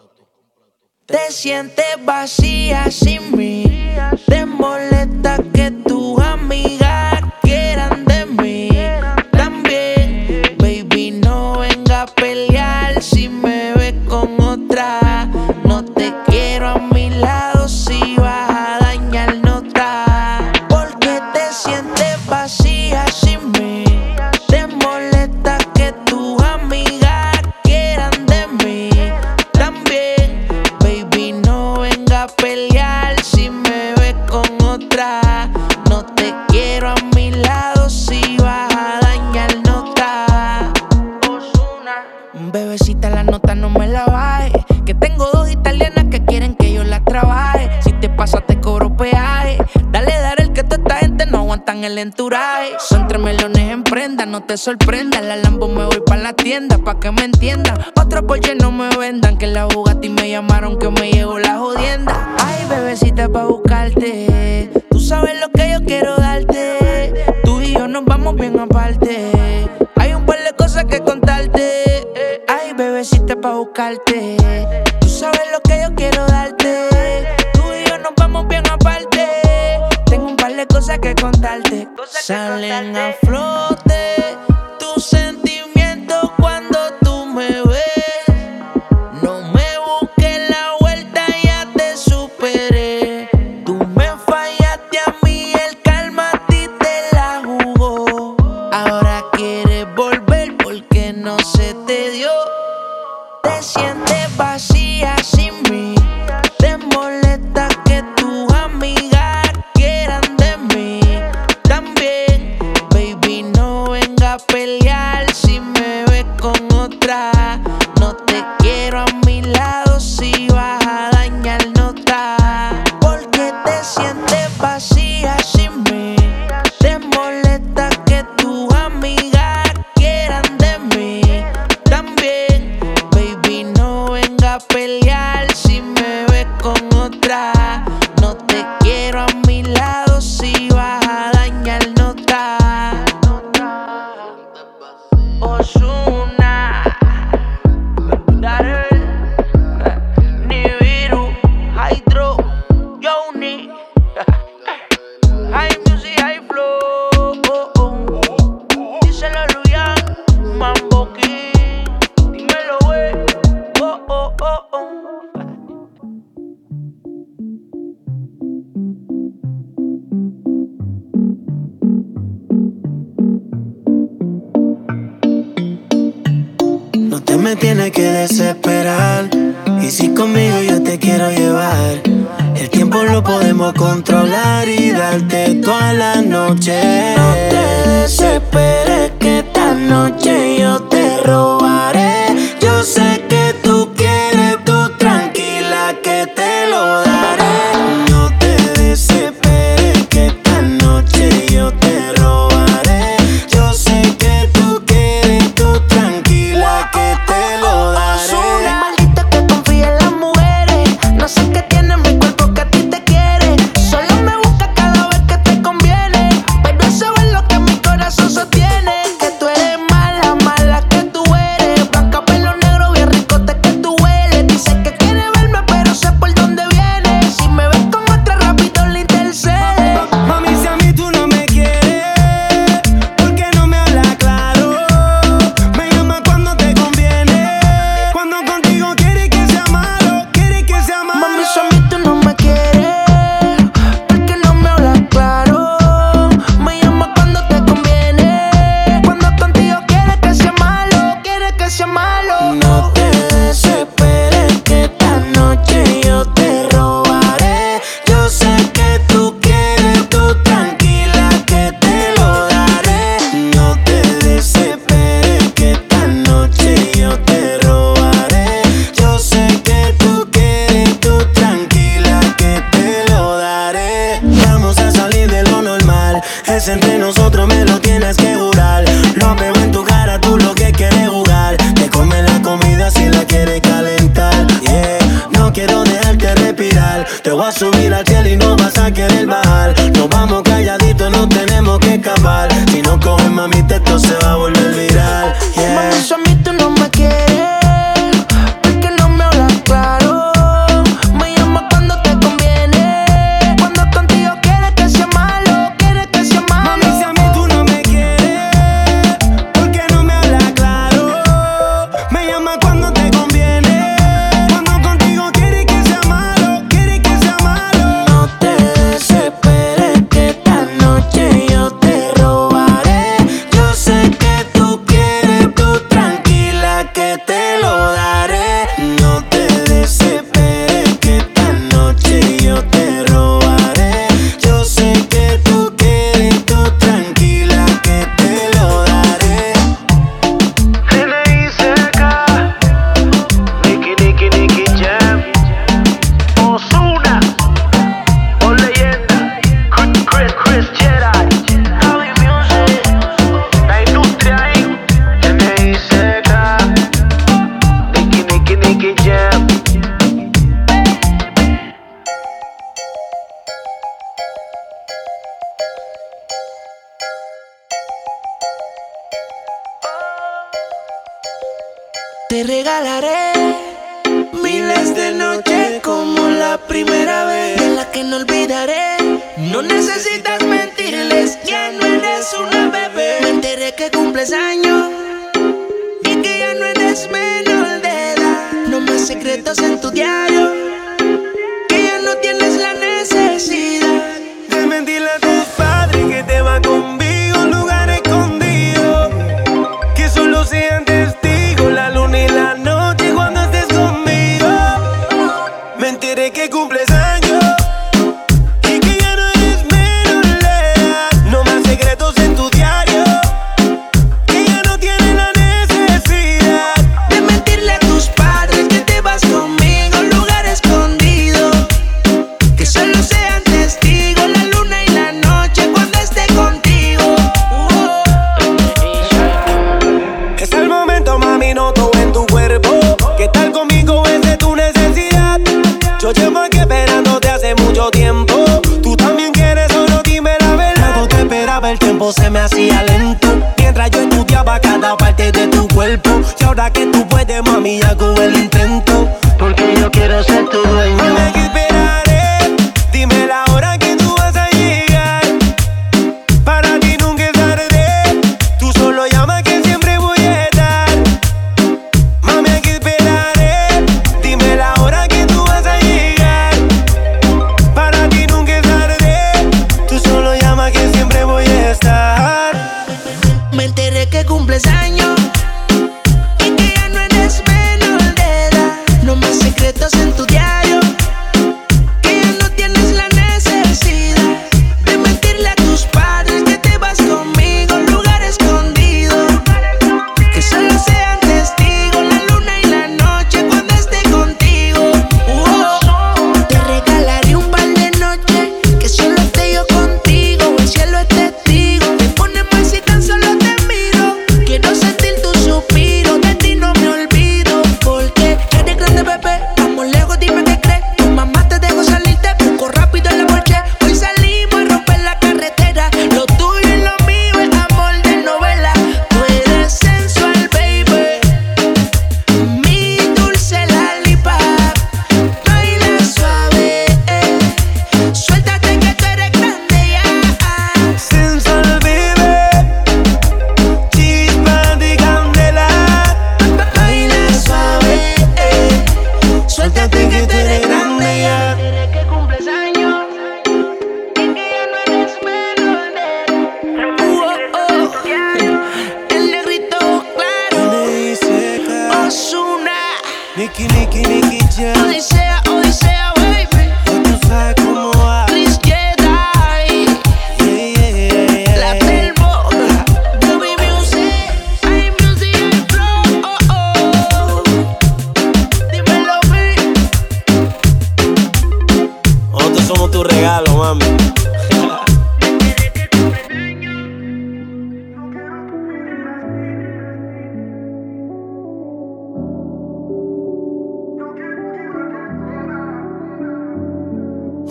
Speaker 1: Te sientes vacía sin mí. Te molesta que tus amigas quieran de mí. También, baby, no venga a pelear si me ves con otra. No te quiero a mi lado si vas a dañar nota. Porque te sientes vacía sin mí. Te molesta que tus amigas quieran de mí. También, baby, no venga a pelear si me ves con otra. No te quiero a mi lado si vas a dañar nota. Bebecita, la nota no me la bajes. Que tengo dos italianas que quieren que yo las trabaje. Si te pasa te cobro peaje. Dale, el que toda esta gente no aguantan el enturaje. Son 3 melones en prenda, no te sorprendas. La Lambo me voy pa' la tienda, pa' que me entiendan. Otro Porsche no me vendan, que la Bugatti me llamaron que me llegó la jodienda. Ay, bebecita, pa' buscarte. Tú sabes lo que yo quiero darte. Tú y yo nos vamos bien aparte. Hay un par de cosas que contarte. Ay, bebecita, pa' buscarte. Tú sabes lo que yo quiero darte. Tú y yo nos vamos bien aparte. Tengo un par de cosas que contarte. Salen a flote tus sentimientos cuando tú me ves. No me busques la vuelta, ya te superé. Tú me fallaste a mí, el karma a ti te la jugó. Ahora quieres volver porque no se te dio. Te sientes vacía sin mí. Te molesta que tus amigas quieran de mí. También, baby, no venga a pelear si me ves con otra. No te quiero a mi lado si vas a dañar nota. Porque te sientes vacía sin mí. Te molesta que tus amigas quieran de mí. También, baby, no venga a pelear si me ves con otra. No te quiero a mi lado si vas a dañar nota. Ozuna, Darrell, Nibiru, Hydro, Yoni, High Music, High Flow. Díselo a Luyan, Mambo King, dímelo, wey.
Speaker 3: No te me tienes que desesperar. Y si conmigo yo te quiero llevar, el tiempo lo podemos controlar y darte toda la noche. No te desesperes que esta noche yo te robaré. Yo sé que tú quieres, tú tranquila que te lo daré. No te desesperes que esta noche yo te robaré. Yo sé que tú quieres, tú tranquila que te lo daré.
Speaker 1: Maldito que confía en las mujeres. No sé qué tiene mi cuerpo que a ti te quiere. Solo me busca cada vez que te conviene. Pero eso es lo que mi corazón sostiene. Que tú eres mala, mala que tú eres.
Speaker 3: Te voy a subir al cielo y no vas a querer bajar. Nos vamos calladitos, no tenemos que escapar. Si no coges, mami, esto se va a volver viral. Yeah.
Speaker 1: Mami, eso a mí tú no me quieres, porque no me hablas claro. Me llamas cuando te conviene, cuando contigo quieres que sea malo, quieres que sea malo.
Speaker 3: Mami, si a mí tú no me quieres, porque no me hablas claro. Me llamas cuando te conviene, cuando contigo quieres que sea malo, quieres que sea malo.
Speaker 1: No te desesperes que esta noche yo te robaré. Yo sé que tú quieres, tú tranquila que te lo daré. No te desesperes que esta noche yo te robaré. Yo sé que tú quieres, tú tranquila que te lo daré.
Speaker 8: N.I.C.K. Nicky Jam, Ozuna, o leyenda, Chris Jedi, Javi Music, la industria ahí. N.I.C.K. Nicky Jam.
Speaker 1: Te regalaré miles de noches como la primera vez, de la que no olvidaré. No necesitas mentirles, ya no eres una bebé. Me enteré que cumples años y que ya no eres menor de edad. No más secretos en tu diario, que ya no tienes la necesidad
Speaker 3: De mentirle a tus padres que te va conmigo a un lugar escondido, que solo sean testigos la luna y la noche cuando estés conmigo. Me enteré que cumples años y que ya no eres menor de edad. No más secretos en tu diario, que ya no tienes la necesidad
Speaker 1: de mentirle a tus padres que te vas conmigo a un lugar escondido, que solo sean testigos la luna y la noche cuando esté contigo.
Speaker 3: Es el momento, mami, noto en tu cuerpo que estar conmigo es de tu necesidad. Yo llevo aquí esperándote hace mucho tiempo. Tú también quieres, solo dime la verdad. Cuando te esperaba el tiempo se me hacía lento, mientras yo estudiaba cada parte de tu cuerpo. Y ahora que tú puedes, mami, hago el intento, porque yo quiero ser tu dueño. Mami, aquí esperaré, dime la hora que tú vas a llegar. Para ti nunca es tarde, tú solo llama que siempre voy a estar. Mami, aquí esperaré, dime la hora que tú vas a llegar. Para ti nunca es tarde, tú solo llama que siempre voy a estar.
Speaker 1: Me enteré que cumples años y que ya no eres menor de edad. No más secretos en tu diario, que ya no tienes la necesidad de mentirle a tus padres que te vas conmigo a un lugar escondido, que solo sean testigos la luna y la noche cuando esté contigo. Te regalaré un par de noches que solo esté yo contigo, el cielo es testigo. Me pone mal si tan solo te miro, quiero sentir tu suspiro, de ti no me olvido, porque eres grande, bebé. Vamos lejos, dime qué crees. Tu mamá te dejó salir, te busco rápido en la porche. Hoy salimos a romper la carretera. Lo tuyo y lo mío es amor de novela. Tú eres sensual, baby, mi dulce lollipop. Baila suave, suéltate que tú eres grande ya.
Speaker 3: Sensual, baby, chispa de candela.
Speaker 1: Baila suave, suéltate que tú eres grande ya. Que cumples años y que ya no eres menor de edad. El negrito claro, Ozuna,
Speaker 3: Nicky Jam.
Speaker 1: Odisea, baby.
Speaker 3: Tú sabes cómo va.
Speaker 1: Chris Jedi, La Telmo, Javi Music, iMusic, Flow. Dímelo, baby.
Speaker 3: Nosotros somos tu regalo, mami.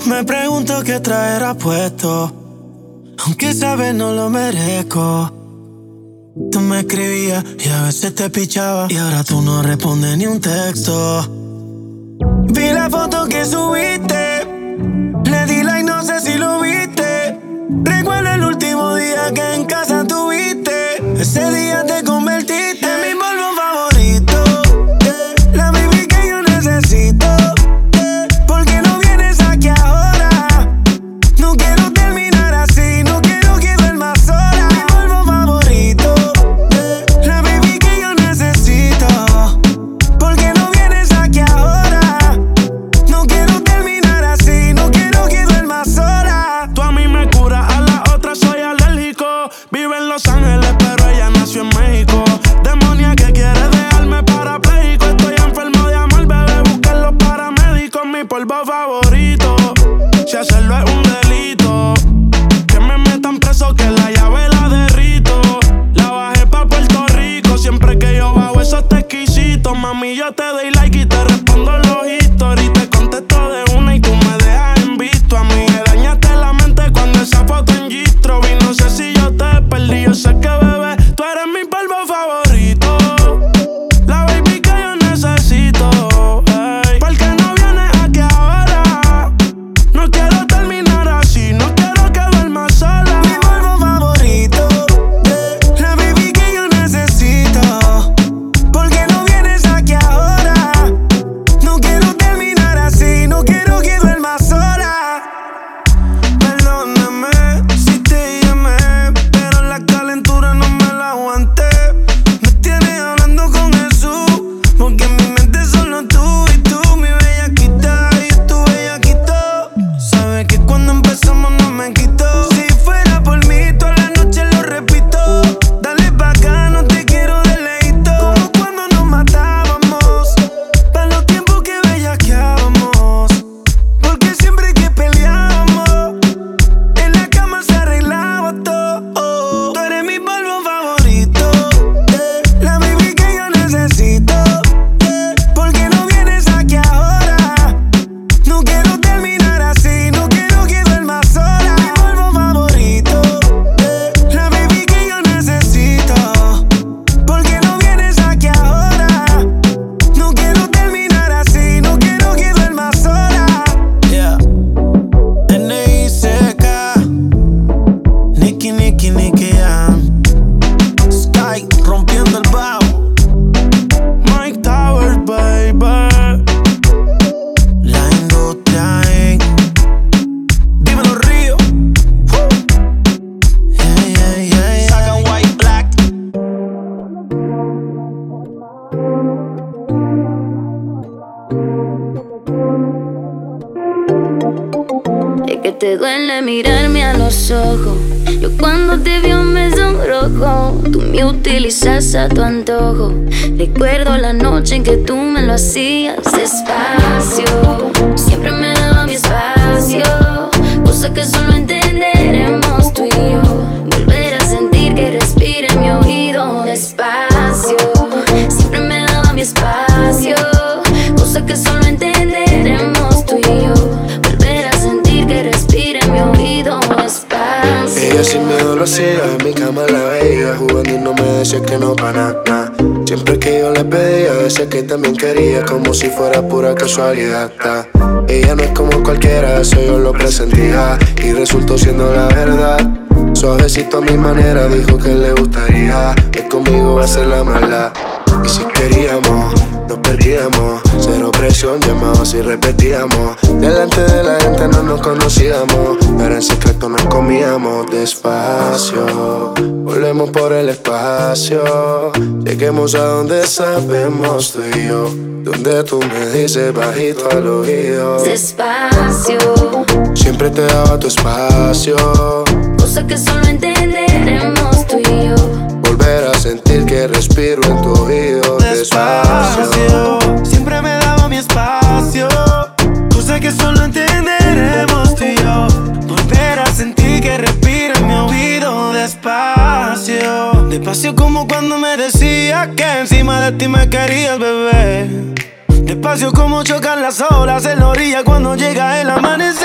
Speaker 3: Me pregunto qué traerá puesto, aunque sabes no lo merezco. Tú me escribías y a veces te pichaba, y ahora tú no respondes ni un texto. Vi la foto que subiste, le di like, no sé si lo viste. Recuerdo el último día que en casa tuviste. Ese día te convertiste en mi polvo favorito, la baby que yo necesito. ¿Por qué no vienes aquí ahora? No quiero terminar así, no quiero que duermas sola. Mi polvo favorito, la baby que yo necesito. ¿Por qué no vienes aquí ahora? No quiero terminar así, no quiero que duermas sola.
Speaker 2: Tú a mí me curas, a la otra soy alérgico. Vive en Los Ángeles, pero ella nació en México. Demonia que quiere dejarme parapléjico. Estoy enfermo de amor, bebé, busquen los paramédicos. Mi polvo favorito, si hacerlo es un delito, que me metan preso, que la llave la derrito. La bajé pa' Puerto Rico, siempre que yo bajo eso te exquisito. Mami, yo te doy like y te respondo los historias. Te contesto de una y tú me dejas en visto. A mí me dañaste la mente cuando esa foto en Gistro vi. No sé si yo te perdí, yo sé que bebé, tú eres mi polvo favorito, la baby que yo necesito. Ey. ¿Por qué no vienes aquí ahora? No quiero terminar así, no quiero que duermas sola.
Speaker 3: Mi polvo favorito, la baby que yo necesito. ¿Por qué no vienes aquí ahora? No quiero terminar así, no quiero que duermas sola. Perdóname si te llamé, pero la calentura no me la aguanté. Me tienes hablando con Jesús, porque en mi mente solo tú y tú, mi bellaquita y tu bellaquito. Sabes que cuando empezamos no me quitó. Si fuera por mí, toda la noche lo repito. Dale pa' acá, no te quiero de leíto. Como cuando nos matábamos, pa' los tiempos que bellaqueábamos. Porque siempre que peleábamos, en la cama se arreglaba todo. Tú eres mi polvo favorito, la baby que yo necesito. ¿Por qué no vienes aquí ahora? No quiero terminar así, no quiero que duermas sola. Mi polvo favorito, la baby que yo necesito. ¿Por qué no vienes aquí ahora? No quiero terminar así, no quiero que duermas sola. Yeah. N.I.C.K. Nicky, Nicky, Nicky, Sky rompiendo el bajo.
Speaker 2: Mike Towers, baby.
Speaker 3: La industria, dímelo Río. Yeah, yeah, yeah,
Speaker 11: Saca White Black.
Speaker 12: Es que te duele mirarme a los ojos. Yo cuando te veo me sonrojo. Tú me utilizas a tu antojo. Recuerdo la noche en que tú me lo hacías despacio. Siempre me daba mi espacio, cosa que solo entenderemos tú y yo. Volver a sentir que respira en mi oído despacio. Siempre me daba mi espacio, cosa que solo entenderemos tú y yo. Volver a sentir que respira en mi oído despacio.
Speaker 8: Ella sin miedo lo hacía, en mi cama la veía jugando y no me decía que no para nada. Siempre que yo le pedía, decía que también quería, como si fuera pura casualidad. Ella no es como cualquiera, eso yo lo presentía y resultó siendo la verdad. Suavecito a mi manera, dijo que le gustaría que conmigo va a ser la maldad. Y si queríamos, nos perdíamos. Cero presión, llamados y repetíamos. Delante de la gente no nos conocíamos, pero en secreto nos comíamos despacio. Volvemos por el espacio, lleguemos a donde sabemos tú y yo. Donde tú me dices bajito al oído
Speaker 12: despacio.
Speaker 8: Siempre te daba tu espacio,
Speaker 12: cosa que solo entenderemos tú y yo.
Speaker 8: Volver a sentir que respiro en tu oído despacio.
Speaker 3: Siempre me daba mi espacio, cosa que solo entenderemos tú y yo. Volver a sentir que respiro en mi oído despacio. Despacio como cuando me decías que encima de ti me querías, bebé. Despacio como chocan las olas en la orilla cuando llega el amanecer.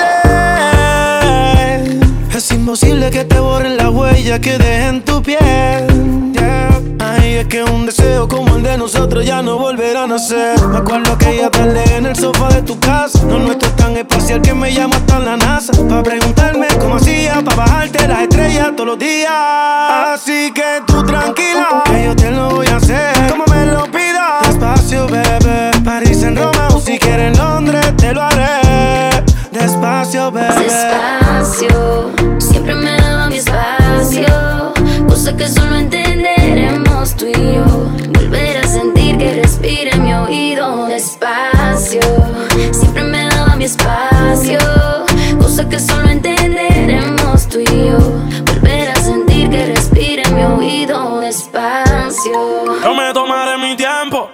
Speaker 3: Es imposible que te borren la huella que dejen tu piel, yeah. Ay, es que un deseo como el de nosotros ya no volverá a nacer. Me acuerdo aquella tarde en el sofá de tu casa. Lo nuestro es tan espacial que me llama hasta la NASA pa' preguntarme cómo hacía pa' bajarte las estrellas todos los días. Así que tú tranquila, que yo te lo voy a hacer como me lo pidas. Despacio, bebé, París en Roma o si quieres Londres te lo haré. Despacio, bebé.
Speaker 12: Despacio, siempre me daba mi espacio, cosa que solo entenderemos tú y yo. Volver a sentir que respira en mi oído. Despacio, siempre me daba mi espacio, cosa que solo entenderemos tú y yo. Volver a sentir que respira en mi oído. Despacio.
Speaker 13: Yo me tomaré mi tiempo,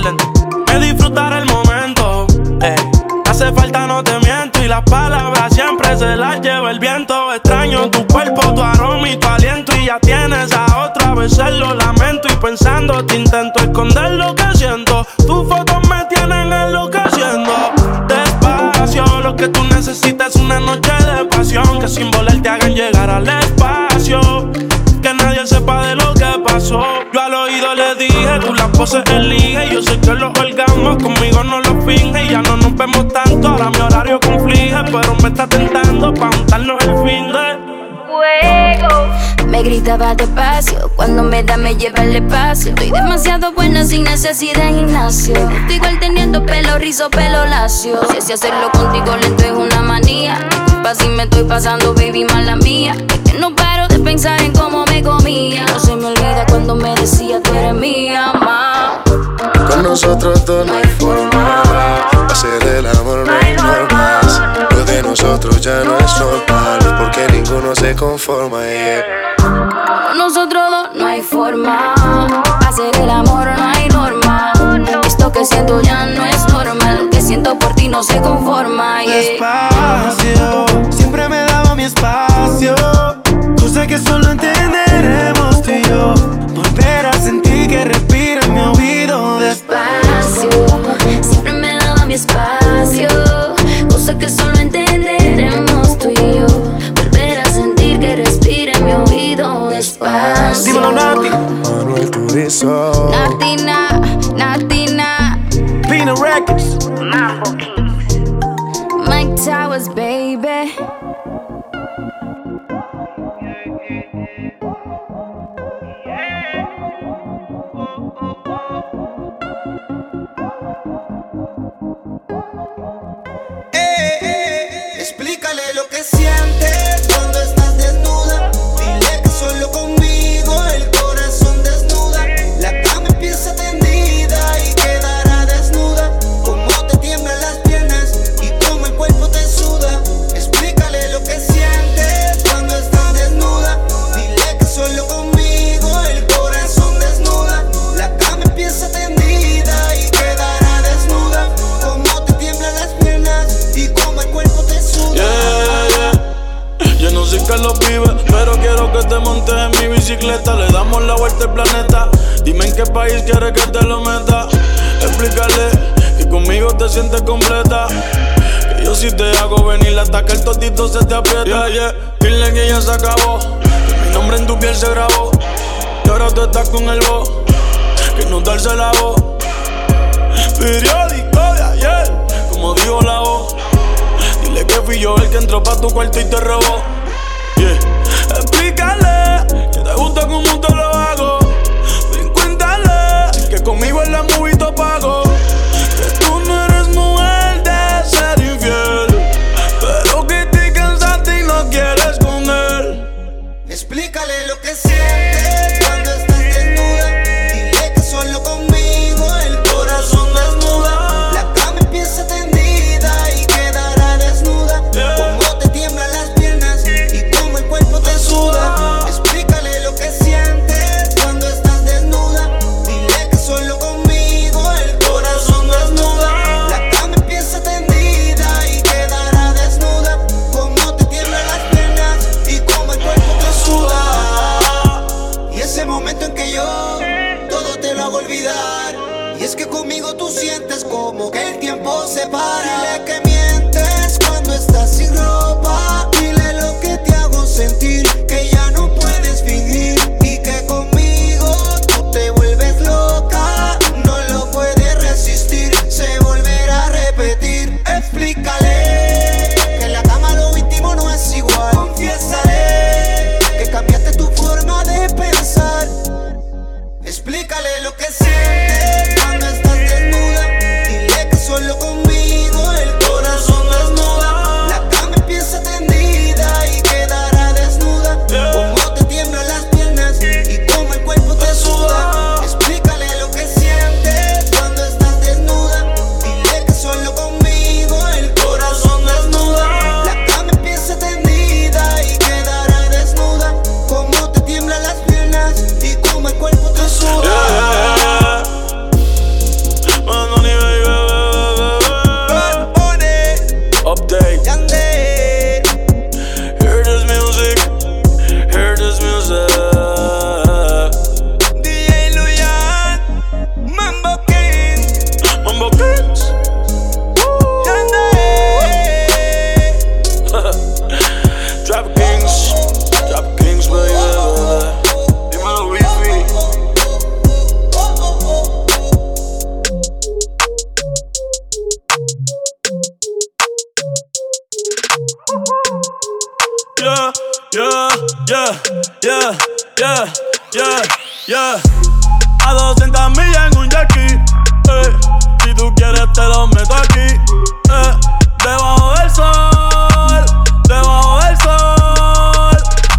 Speaker 13: me disfrutaré el momento. Hace falta, no te miento, y las palabras siempre se las lleva el viento. Extraño tu cuerpo, tu aroma y tu aliento, y ya tienes a otra, a veces lo lamento. Y pensando te intento esconder lo que siento. Tus fotos me tienen enloqueciendo. Despacio, lo que tú necesitas es una noche de pasión, que sin volar te hagan llegar al espacio, que nadie sepa de lo que pasó. Yo al oído le dije, tú las poses elige. Yo sé que los orgasmos conmigo no los finge. Y ya no nos vemos tanto, ahora mi horario conflige. Pero me está tentando pa' juntarnos el fin de
Speaker 12: fuego. Me gritaba despacio, cuando me da me lleva al espacio. Estoy demasiado buena sin necesidad de gimnasio. Estoy igual teniendo pelo rizo, pelo lacio. Si así hacerlo contigo lento es una manía. Disculpa si me estoy pasando, baby, mala mía. Es que no paro de pensar en cómo me comía. No se me olvida cuando me decía tú eres mía, ma.
Speaker 8: Con nosotros dos no hay forma. Hacer el amor no hay normas. Lo de nosotros ya no es normal, porque ninguno se conforma, yeah.
Speaker 12: Con nosotros dos no hay forma. Hacer el amor no hay norma. Esto que siento ya no es normal. Lo que siento por ti no se conforma, yeah.
Speaker 3: Despacio, siempre me daba mi espacio, cosa que solo entenderemos tú y yo. Volver a sentir que respira en mi oído.
Speaker 12: Despacio, siempre me daba mi espacio, cosa que solo entenderemos tú y yo. Volver a sentir que respira en mi oído. Despacio.
Speaker 3: Dímelo, Nati.
Speaker 8: Manuel Turizo.
Speaker 12: Natina, Natina.
Speaker 3: Pina Records.
Speaker 12: Mambo Kings. Mike Towers, baby.
Speaker 11: Explícale lo que sientes cuando estás desnuda. Dile que solo conmigo el corazón desnuda. La cama empieza tendida y quedará desnuda. Cómo te tiemblan las piernas y cómo el cuerpo te suda. Explícale lo que sientes cuando estás desnuda. Dile que solo conmigo el corazón desnuda. La cama empieza tendida y quedará desnuda. Cómo te tiemblan las piernas y cómo el cuerpo te suda.
Speaker 13: Yo no sé qué lo vive, pero quiero que te montes en mi bicicleta. Le damos la vuelta al planeta. Dime en qué país quieres que te lo meta. Explícale que conmigo te sientes completa. Que yo si te hago venir hasta que el totito se te aprieta. Yeah, yeah. Dile que ya se acabó, que mi nombre en tu piel se grabó. Y ahora tú estás con el voz, que no darse la voz. Periódico de ayer, como dijo la voz. Dile que fui yo el que entró pa' tu cuarto y te robó. Yeah. Explícale que te gusta como te lo hago. Ven, cuéntale que conmigo en la movie te pago. Que tú no eres mujer de ser infiel, pero que te cansaste y no quieres con él.
Speaker 11: Explícale lo que sientes cuando estás desnuda. Dile que solo conmigo el corazón desnuda. La cama empieza tendida y quedará desnuda. Cómo te tiemblan las piernas
Speaker 13: yeah. A 200 millas en un jackie, si tú quieres te lo meto aquí, debajo del sol, debajo del sol,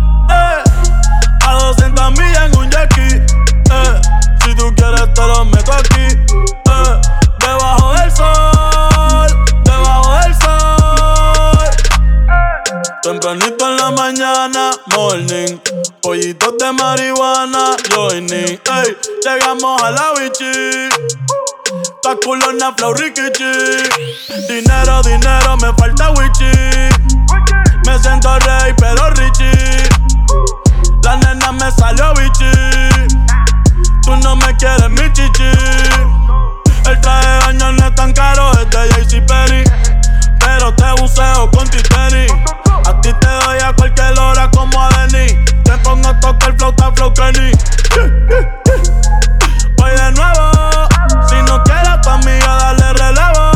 Speaker 13: a 200 millas en un jackie, si tú quieres te lo meto aquí, debajo del sol, debajo del sol. Tempranito en la mañana, morning, pollitos de marihuana, joining, ey, llegamos a la bichi, ta culona flow rikichi, dinero, dinero, me falta wichi, me siento rey pero richie, la nena me salió bichi, tú no me quieres mi chichi, el traje de baño no es tan caro, es de JCPenney, pero te buceo con Titanic, a ti te doy a cualquier hora como a Denny, te pongo a tocar flauta flow Kenny, voy de nuevo, si no quieres a tu amiga darle relevo,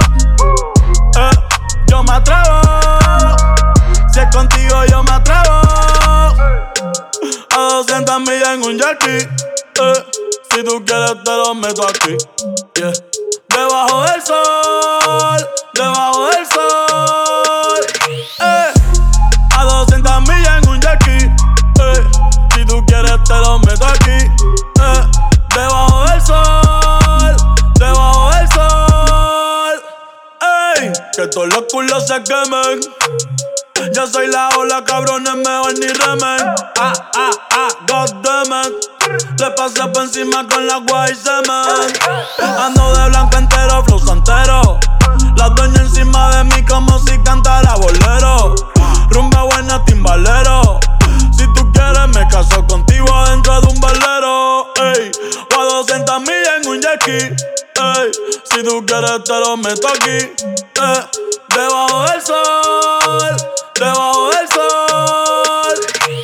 Speaker 13: yo me atrevo, si es contigo yo me atrevo, a 200 millas en un jackie, si tú quieres te lo meto aquí, yeah. Debajo del sol, debajo del sol, a 200 millas en un jackie, si tú quieres te lo meto aquí, debajo del sol, debajo del sol, que todos los culos se quemen. Yo soy la ola, cabrones, mejor ni remen. Goddammit, le pasé por encima con la agua y semen. Ando de blanco entero, flow santero. La doña encima de mí como si cantara bolero. Rumba buena, timbalero. Si tú quieres me caso contigo adentro de un velero. Ey, o a 200 millas en un jackie. Ey, si tú quieres te lo meto aquí. Debajo del sol, debajo del sol.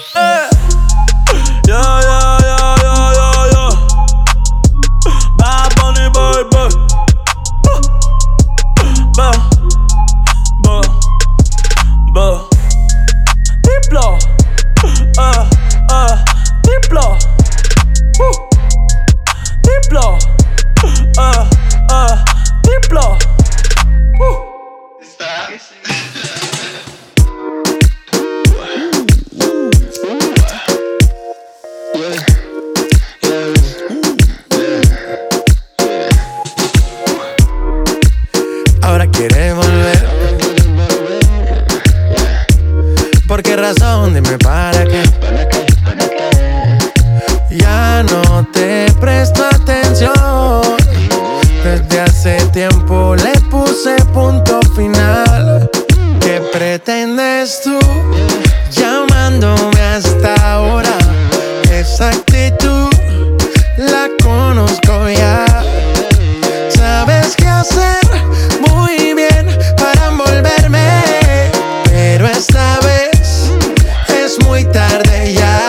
Speaker 13: Bad Bunny, baby. Diplo. Diplo. Diplo. Diplo.
Speaker 3: Ahora quiere volver. ¿Por qué razón? Dime para qué. Ya no te presto atención. Desde hace tiempo le puse punto final. ¿Qué pretendes tú llamándome hasta ahora? Esa actitud la conozco ya. Sabes qué hacer muy bien para envolverme, pero esta vez es muy tarde ya.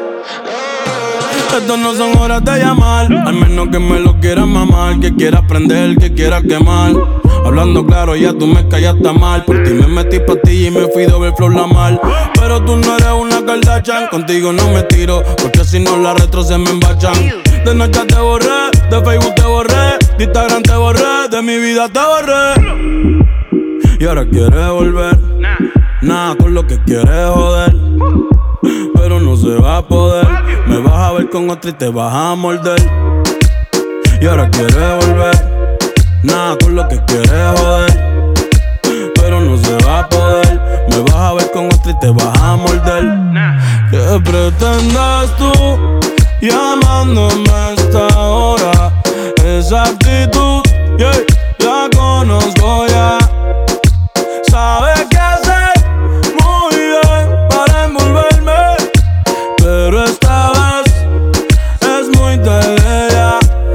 Speaker 13: Estas no son horas de llamar, al menos que me lo quieras mamar, que quieras prender, que quieras quemar. Hablando claro, ya tú me callaste mal. Por ti me metí pastilla y me fui doble flow la mal. Pero tú no eres una Kardashian, contigo no me tiro, porque si no la retro se me embachan. De noche te borré, de Facebook te borré, de Instagram te borré, de mi vida te borré. Y ahora quieres volver, nada con lo que quieres joder, pero no se va a poder. Me vas a ver con otra y te vas a morder. Y ahora quieres volver, nada con lo que quieres joder, pero no se va a poder. Me vas a ver con otra y te vas a morder. ¿Qué pretendes tú llamándome a esta hora? Esa actitud, yeah, la conozco ya. Sabes qué hacer muy bien para envolverme, pero esta vez es muy tarde ya.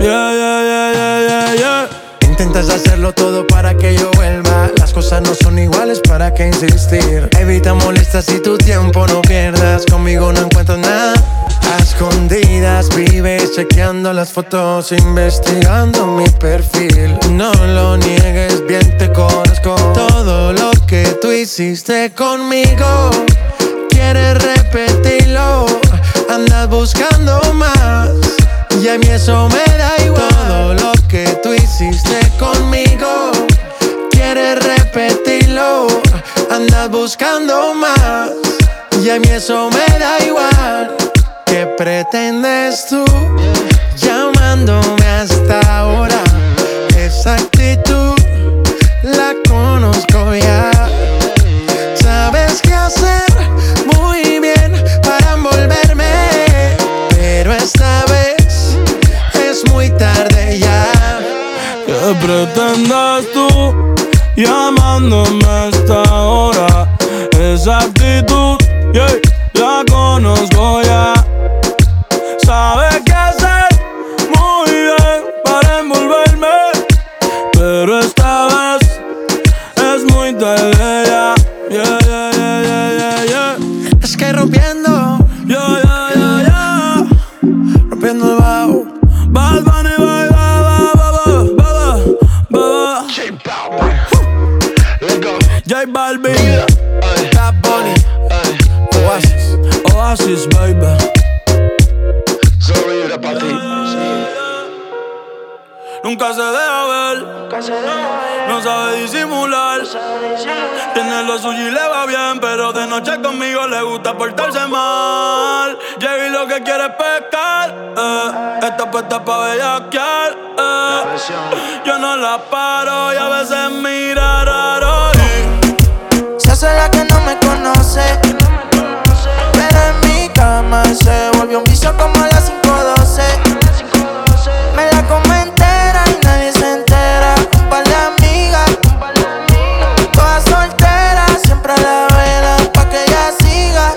Speaker 13: Yeah.
Speaker 3: Intentas hacerlo todo para que yo vuelva. Las cosas no son iguales, ¿para qué insistir? Evita molestas y tu tiempo no pierdas. Conmigo no encuentras nada. A escondidas vives chequeando las fotos, investigando mi perfil. No lo niegues, bien te conozco. Todo lo que tú hiciste conmigo
Speaker 11: quieres repetirlo, andas buscando más. Y a mí eso me da igual. Todo lo que tú hiciste conmigo, quieres repetirlo, andas buscando más. Y a mí eso me da igual. ¿Qué pretendes tú llamándome hasta ahora? Esa actitud la conozco ya. Sabes qué hacer muy bien para envolverme, pero esta vez es muy tarde ya.
Speaker 13: ¿Qué pretendes tú llamándome hasta ahora? Esa actitud, yeah, la conozco ya. Sabes qué hacer muy bien para envolverme, pero esta vez es muy tarde ya. Yeah, yeah, yeah, yeah, yeah, yeah.
Speaker 11: Es que rompiendo,
Speaker 13: yeah, yeah, yeah, yeah.
Speaker 11: rompiendo el bajo.
Speaker 13: Bad Bunny, bye, bye, bye, bye, bye. J Balvin,
Speaker 11: Bad Bunny,
Speaker 13: Oasis, Oasis, baby. Nunca se deja ver, no sabe disimular. Tiene lo suyo y le va bien, pero de noche conmigo le gusta portarse mal. Llegué y lo que quiere es pescar, está puesta pa' bellaquear, yo no la paro y a veces mira raro.
Speaker 1: Se hace la que no me conoce, pero en mi cama se volvió un vicio como a las 5:12. Me la come entera y nadie se entera. Un par de amigas, todas solteras, siempre a la vela pa' que ella siga.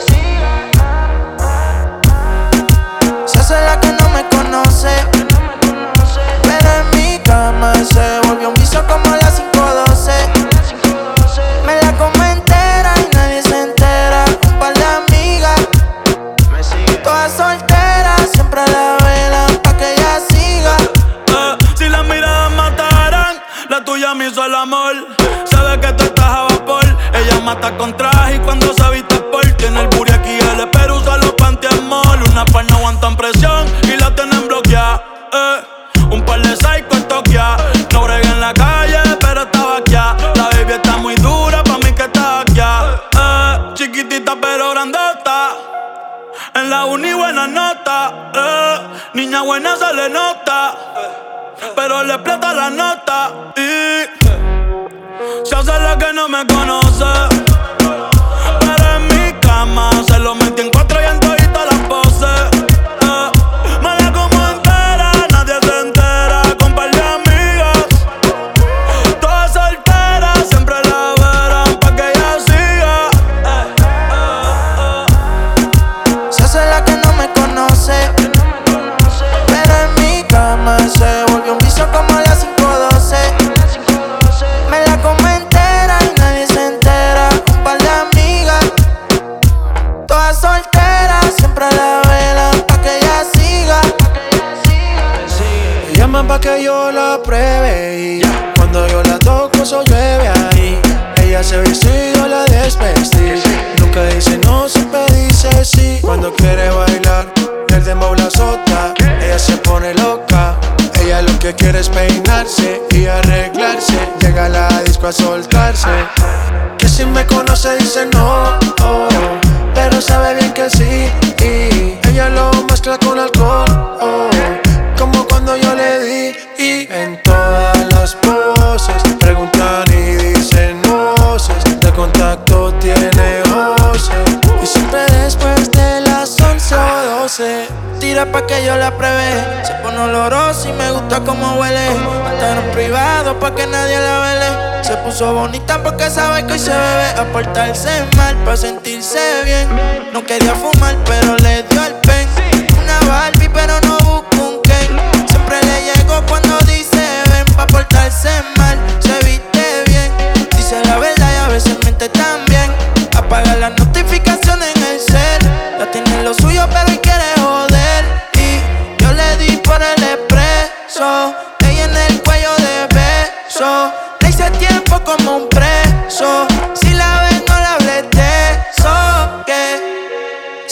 Speaker 1: Se hace la que no me conoce, pero en mi cama se volvió un vicio como a las 5:12. Me la come entera y nadie se entera. Un par de amigas, todas solteras, siempre a la vela pa' que ella siga.
Speaker 13: Si las miradas mataran, la tuya me hizo el amor. Sabe que tú estás a vapor. Ella mata con traje y cuando se viste por. Tiene el booty aquí, el espero usa los panty-amol. Una par no aguantan presión y la tienen bloqueada. Un par de psycho en Tokia. No bregué en la calle, pero estaba aquí. La baby está muy dura, pa' mí que está aquí. Chiquitita pero grandota. En la uni buena nota. Niña buena se le nota, pero le explota la nota. Y se hace la que no me conoce, pero en mi cama se lo metí en 4 y en todita las poses. Me la como entera, nadie se entera. Con par de amigas, todas solteras, siempre la verán pa' que ella siga.
Speaker 1: Se hace la que no me conoce, pero en mi cama se volvió un vicio como a las 5:12. Me la come entera y nadie se entera. Un par de amigas, todas solteras, siempre a la vela pa' que ella siga.
Speaker 11: Me llaman pa' que yo la pruebe y cuando yo la toco eso llueve ahí. Ella se viste y yo la desvestí. Nunca dice no, siempre dice sí. Cuando quiere bailar, el dembow la azota. Ella se pone loca. Ella lo que quiere es peinarse y arreglarse. Llega a la disco a soltarse. Que si me conoce dice no, oh, pero sabe bien que sí. Y ella lo mezcla con alcohol, oh, como cuando yo le di. Y en todas las poses preguntan y dicen voces. De contacto tiene voces. Y siempre después de las 11 o 12
Speaker 1: Tira pa' que yo la pruebe. Se pone olorosa y me gusta como huele. Hasta en privado pa' que nadie la vele. Se puso bonita porque sabe que hoy se bebe. A portarse mal pa' sentirse bien. No quería fumar pero le dio el pen. Una Barbie pero no busco un Ken. Siempre le llego cuando dice ven. Pa' portarse mal, se viste bien. Dice la verdad y a veces miente también. Apaga las notificaciones en el cel. Ya tiene lo suyo pero hoy quiere joder. Y yo le di por el expreso. Ella en el cuello de beso. Le hice como un preso. Si la ves no le hables de eso. Que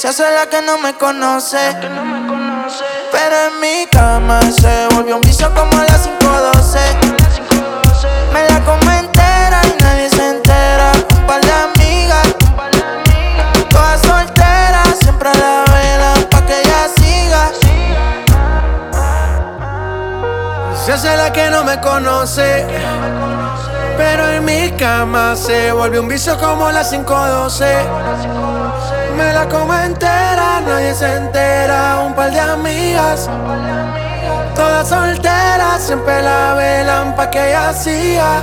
Speaker 1: Se hace la que no me conoce, pero en mi cama se volvió un vicio como a las 5:12. Me la como entera y nadie se entera. Un par de amigas, todas solteras, siempre la velan pa' que ella siga.
Speaker 3: Se hace la que no me conoce, pero en mi cama se volvió un vicio como las 5:12. Me la como entera, nadie se entera. Un par de amigas, todas solteras, siempre la velan pa' que ella siga.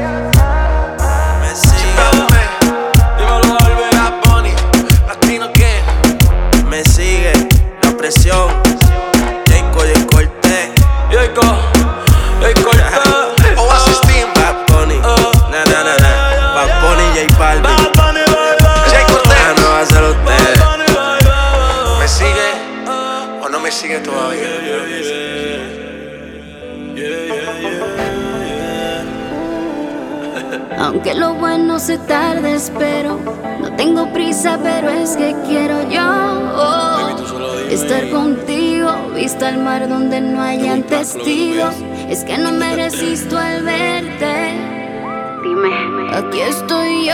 Speaker 14: Me sigue, dímelo al Bad Bunny, Latino que me sigue, la presión, Jayco y Cortez, Oasis Team, Bad Bunny, Bad Bunny, J Balvin, Jay Cortez, no va a ser usted. ¿Me sigue o no me sigue todavía?
Speaker 12: Aunque lo bueno se tarde, espero. No tengo prisa, pero es que quiero yo estar contigo, vista al mar donde no hayan testigos. Es que no me resisto al verte. Dime, aquí estoy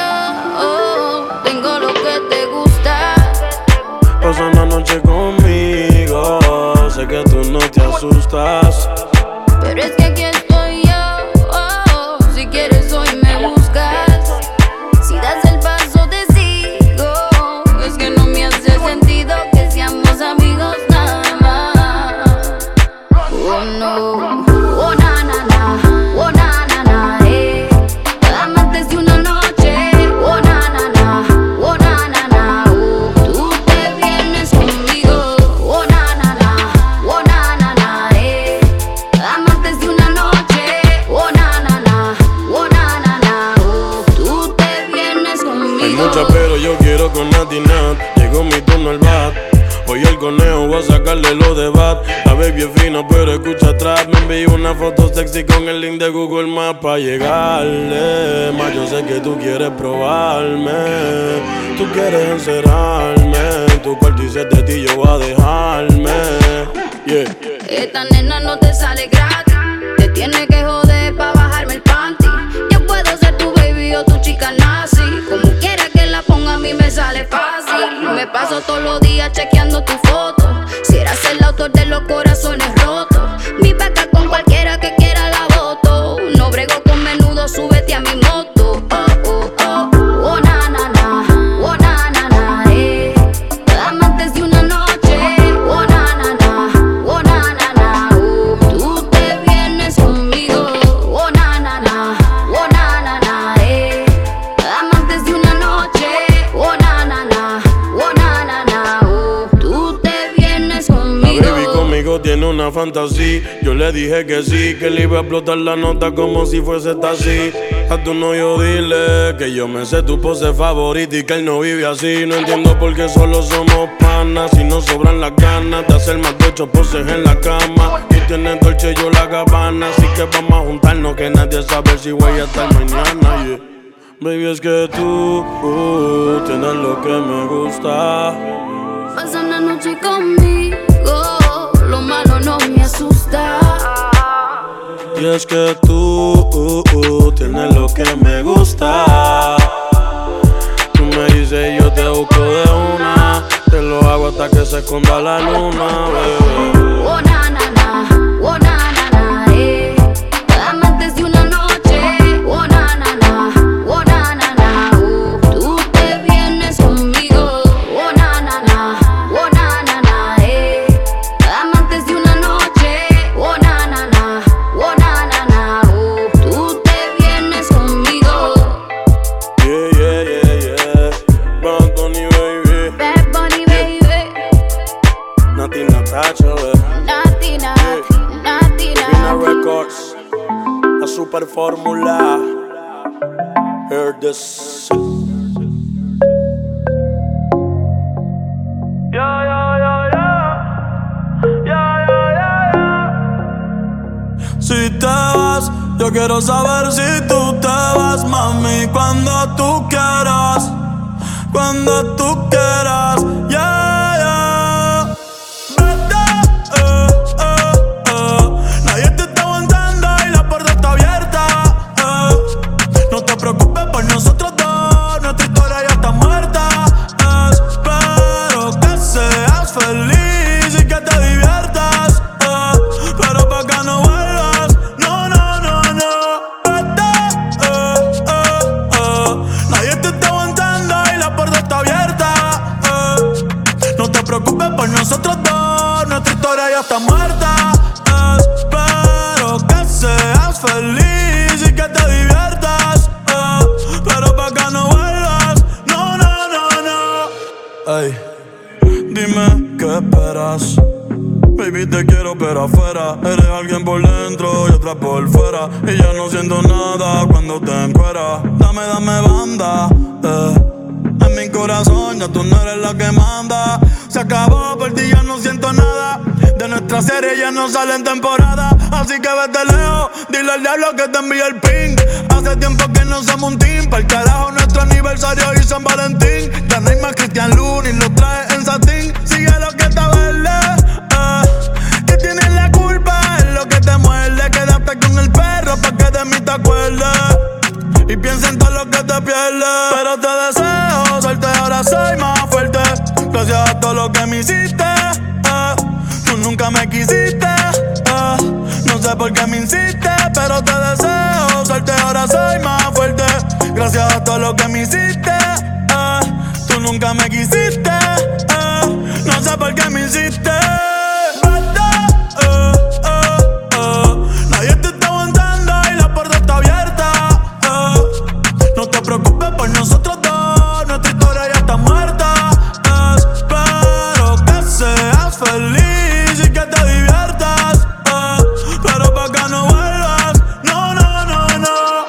Speaker 12: yo. Tengo lo que te gusta.
Speaker 13: Pasa una noche conmigo. Sé que tú no te asustas,
Speaker 12: pero es que aquí estoy yo. Si quieres hoy me buscas. Si das el paso te sigo. Es que no me hace sentido que seamos amigos nada más. Oh no, oh na na na, oh na na na, amantes de una noche, oh na na na, oh na na na, tú te vienes conmigo, oh na na na, oh na na na, amantes de una noche, oh na na na, oh na na na, tú te vienes conmigo.
Speaker 13: Hay mucha pero yo quiero con Nati Nat. Llegó mi turno al bat. Hoy el conejo voy a sacarle los de bat. La baby es fina pero escucha atrás. Me envió una foto sexy con el link de Google Maps pa' llegarle. Más yo sé que tú quieres probarme. Tú quieres encerrarme. En tu cuarto y si es de ti yo voy a dejarme. Yeah.
Speaker 12: Esta nena no te sale gratis. Te tiene que joder pa' bajarme el panty. Yo puedo ser tu baby o tu chica nazi. Como quiera que la ponga a mí me sale fácil. Me paso todos los días chequeando tu foto. Si eras el autor de los corazones rotos. Mi vaca con cualquiera que quiera la voto. No brego con menudo, súbete a mi moto. Oh, oh, oh, oh na na na, oh na na na, amantes de una noche, oh na na na, oh na na na, tú te vienes conmigo, oh na na na, oh na na na, amantes de una noche, oh na na na, oh na na na, tú te vienes conmigo.
Speaker 13: La baby conmigo tiene una fantasía. Yo le dije que sí, que le iba a explotar la nota como si fuese taxi. A tu novio dile que yo me sé tu pose favorita y que él no vive así. No entiendo por qué solo somos panas. Si nos sobran las ganas de hacer más de 8 poses en la cama. Tú tienes Dolce y yo la Gabbana, así que vamos a juntarnos que nadie sabe si voy a estar mañana, yeah. Baby, es que tú tienes lo que me gusta.
Speaker 12: Pasa una noche conmigo, lo malo no me asusta.
Speaker 13: Y es que tú tienes lo que me gusta. Tú me dices yo te busco de una. Te lo hago hasta que se esconda la luna, bebé.
Speaker 12: Oh na na na, oh na na na, amantes de una noche, oh na na na, oh na na na, tú te vienes conmigo, oh na na na, oh na na na, amantes de una noche, oh na na na, oh na na na, tú te vienes conmigo.
Speaker 13: Yeah, yeah, yeah, yeah. Bad Bunny, baby.
Speaker 12: Bad Bunny, baby.
Speaker 13: Nati Natasha, baby.
Speaker 12: Nati, Nati, Nati,
Speaker 13: Vina
Speaker 12: Nati.
Speaker 13: Records, la super fórmula. Heard this. Si te vas, yo quiero saber si tú te vas, mami, cuando tú quieras, yeah.
Speaker 15: quieras. Baby, te quiero pero afuera. Eres alguien por dentro y otra por fuera. Y ya no siento nada cuando te encueras. Dame banda, en mi corazón ya tú no eres la que manda. Se acabó, por ti ya no siento nada. De nuestra serie ya no sale en temporada. Así que vete lejos, dile al diablo que te envíe el ping. Hace tiempo que no somos un team. Pa'l carajo nuestro aniversario y San Valentín. Ya no hay más Cristian Lunis, lo trae en satín. Sigue lo que está verde, que tienes la culpa, es lo que te muerde. Quédate con el perro pa' que de mí te acuerdes. Y piensa en todo lo que te pierdes. Pero te deseo suerte, ahora soy más fuerte. Gracias a todo lo que me hiciste, tú nunca me quisiste, no sé por qué me insistes. Pero te deseo suerte, ahora soy más fuerte. Gracias a todo lo que me hiciste, tú nunca me quisiste, no sé por qué me insistes. Nadie te está aguantando y la puerta está abierta. No te preocupes por nosotros dos, nuestra historia ya está muerta. Espero que seas feliz y que te diviertas, pero pa' que no vuelvas. No, no, no, no.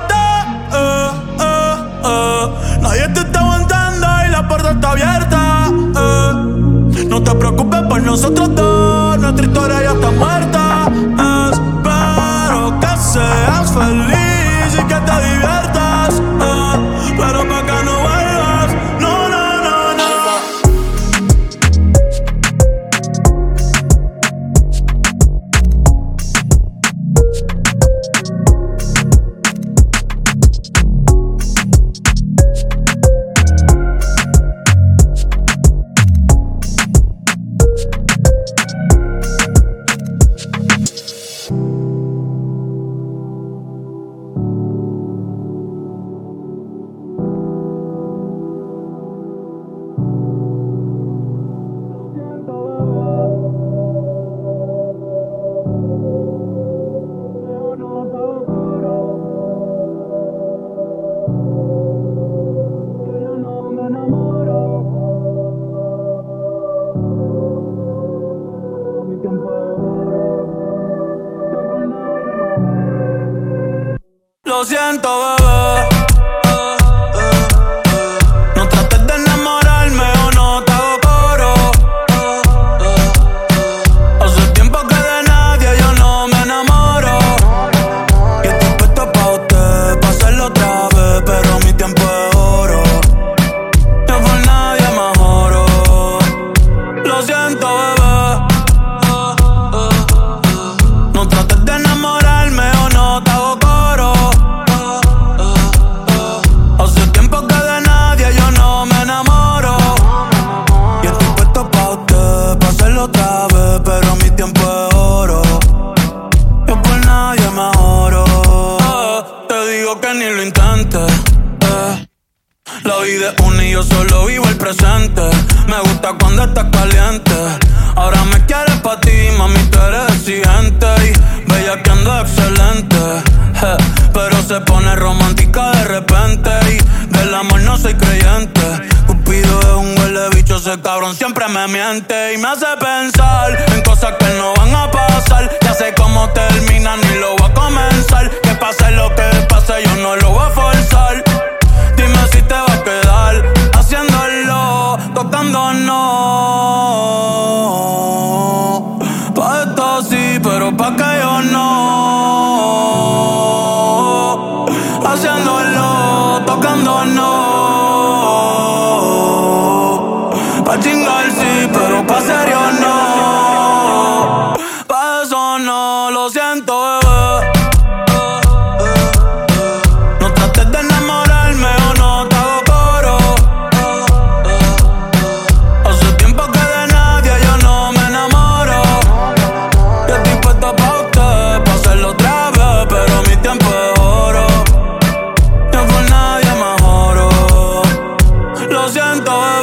Speaker 15: Vete, nadie te está aguantando y la puerta está abierta. No te preocupes por nosotros dos, nuestra historia ya está muerta. Espero que seas feliz y que te diviertas, pero pa' que no vuelvas. No, no, no, no. Lo siento, bebé. No trates de enamorarme o no te hago coro. Hace tiempo que de nadie yo no me enamoro. Y estoy puesto pa' usted, pa' hacerlo otra vez, pero mi tiempo es oro. Yo por nadie me joro. Lo siento, bebé. No trates de enamorarme o no te hago coro. Hace tiempo que de nadie yo no me enamoro. Y estoy puesto pa' usted, pa' hacerlo otra vez, pero mi tiempo es oro. Yo por nadie me joro. Te digo que ni lo intentes. La vida es una y yo solo vivo el presente. Me gusta cuando estás caliente. Ahora me quieres pa' ti, mami, tú eres exigente. Y bellaqueando excelente. Pero se pone romántica de repente. Y del amor no soy creyente. Cupido es un huele bicho, ese cabrón siempre me miente. Y me hace pensar en cosas que no van a pasar. Ya sé cómo termina, ni lo voy a comenzar. Que pase lo que pase, yo no lo voy a forzar. Dime si te va a quedar haciéndolo, tocándonos. Pa' esto sí, pero pa' que yo no. Haciéndolo, tocándonos. Pa' chingar sí, pero pa' serio no. Pa' eso no, lo siento, bebé. No trates de enamorarme o no te hago coro. Hace tiempo que de nadie yo no me enamoro. Y estoy puesto pa' usted, pa' hacerlo otra vez, pero mi tiempo es oro. Yo por nadie me joro. Lo siento, bebé.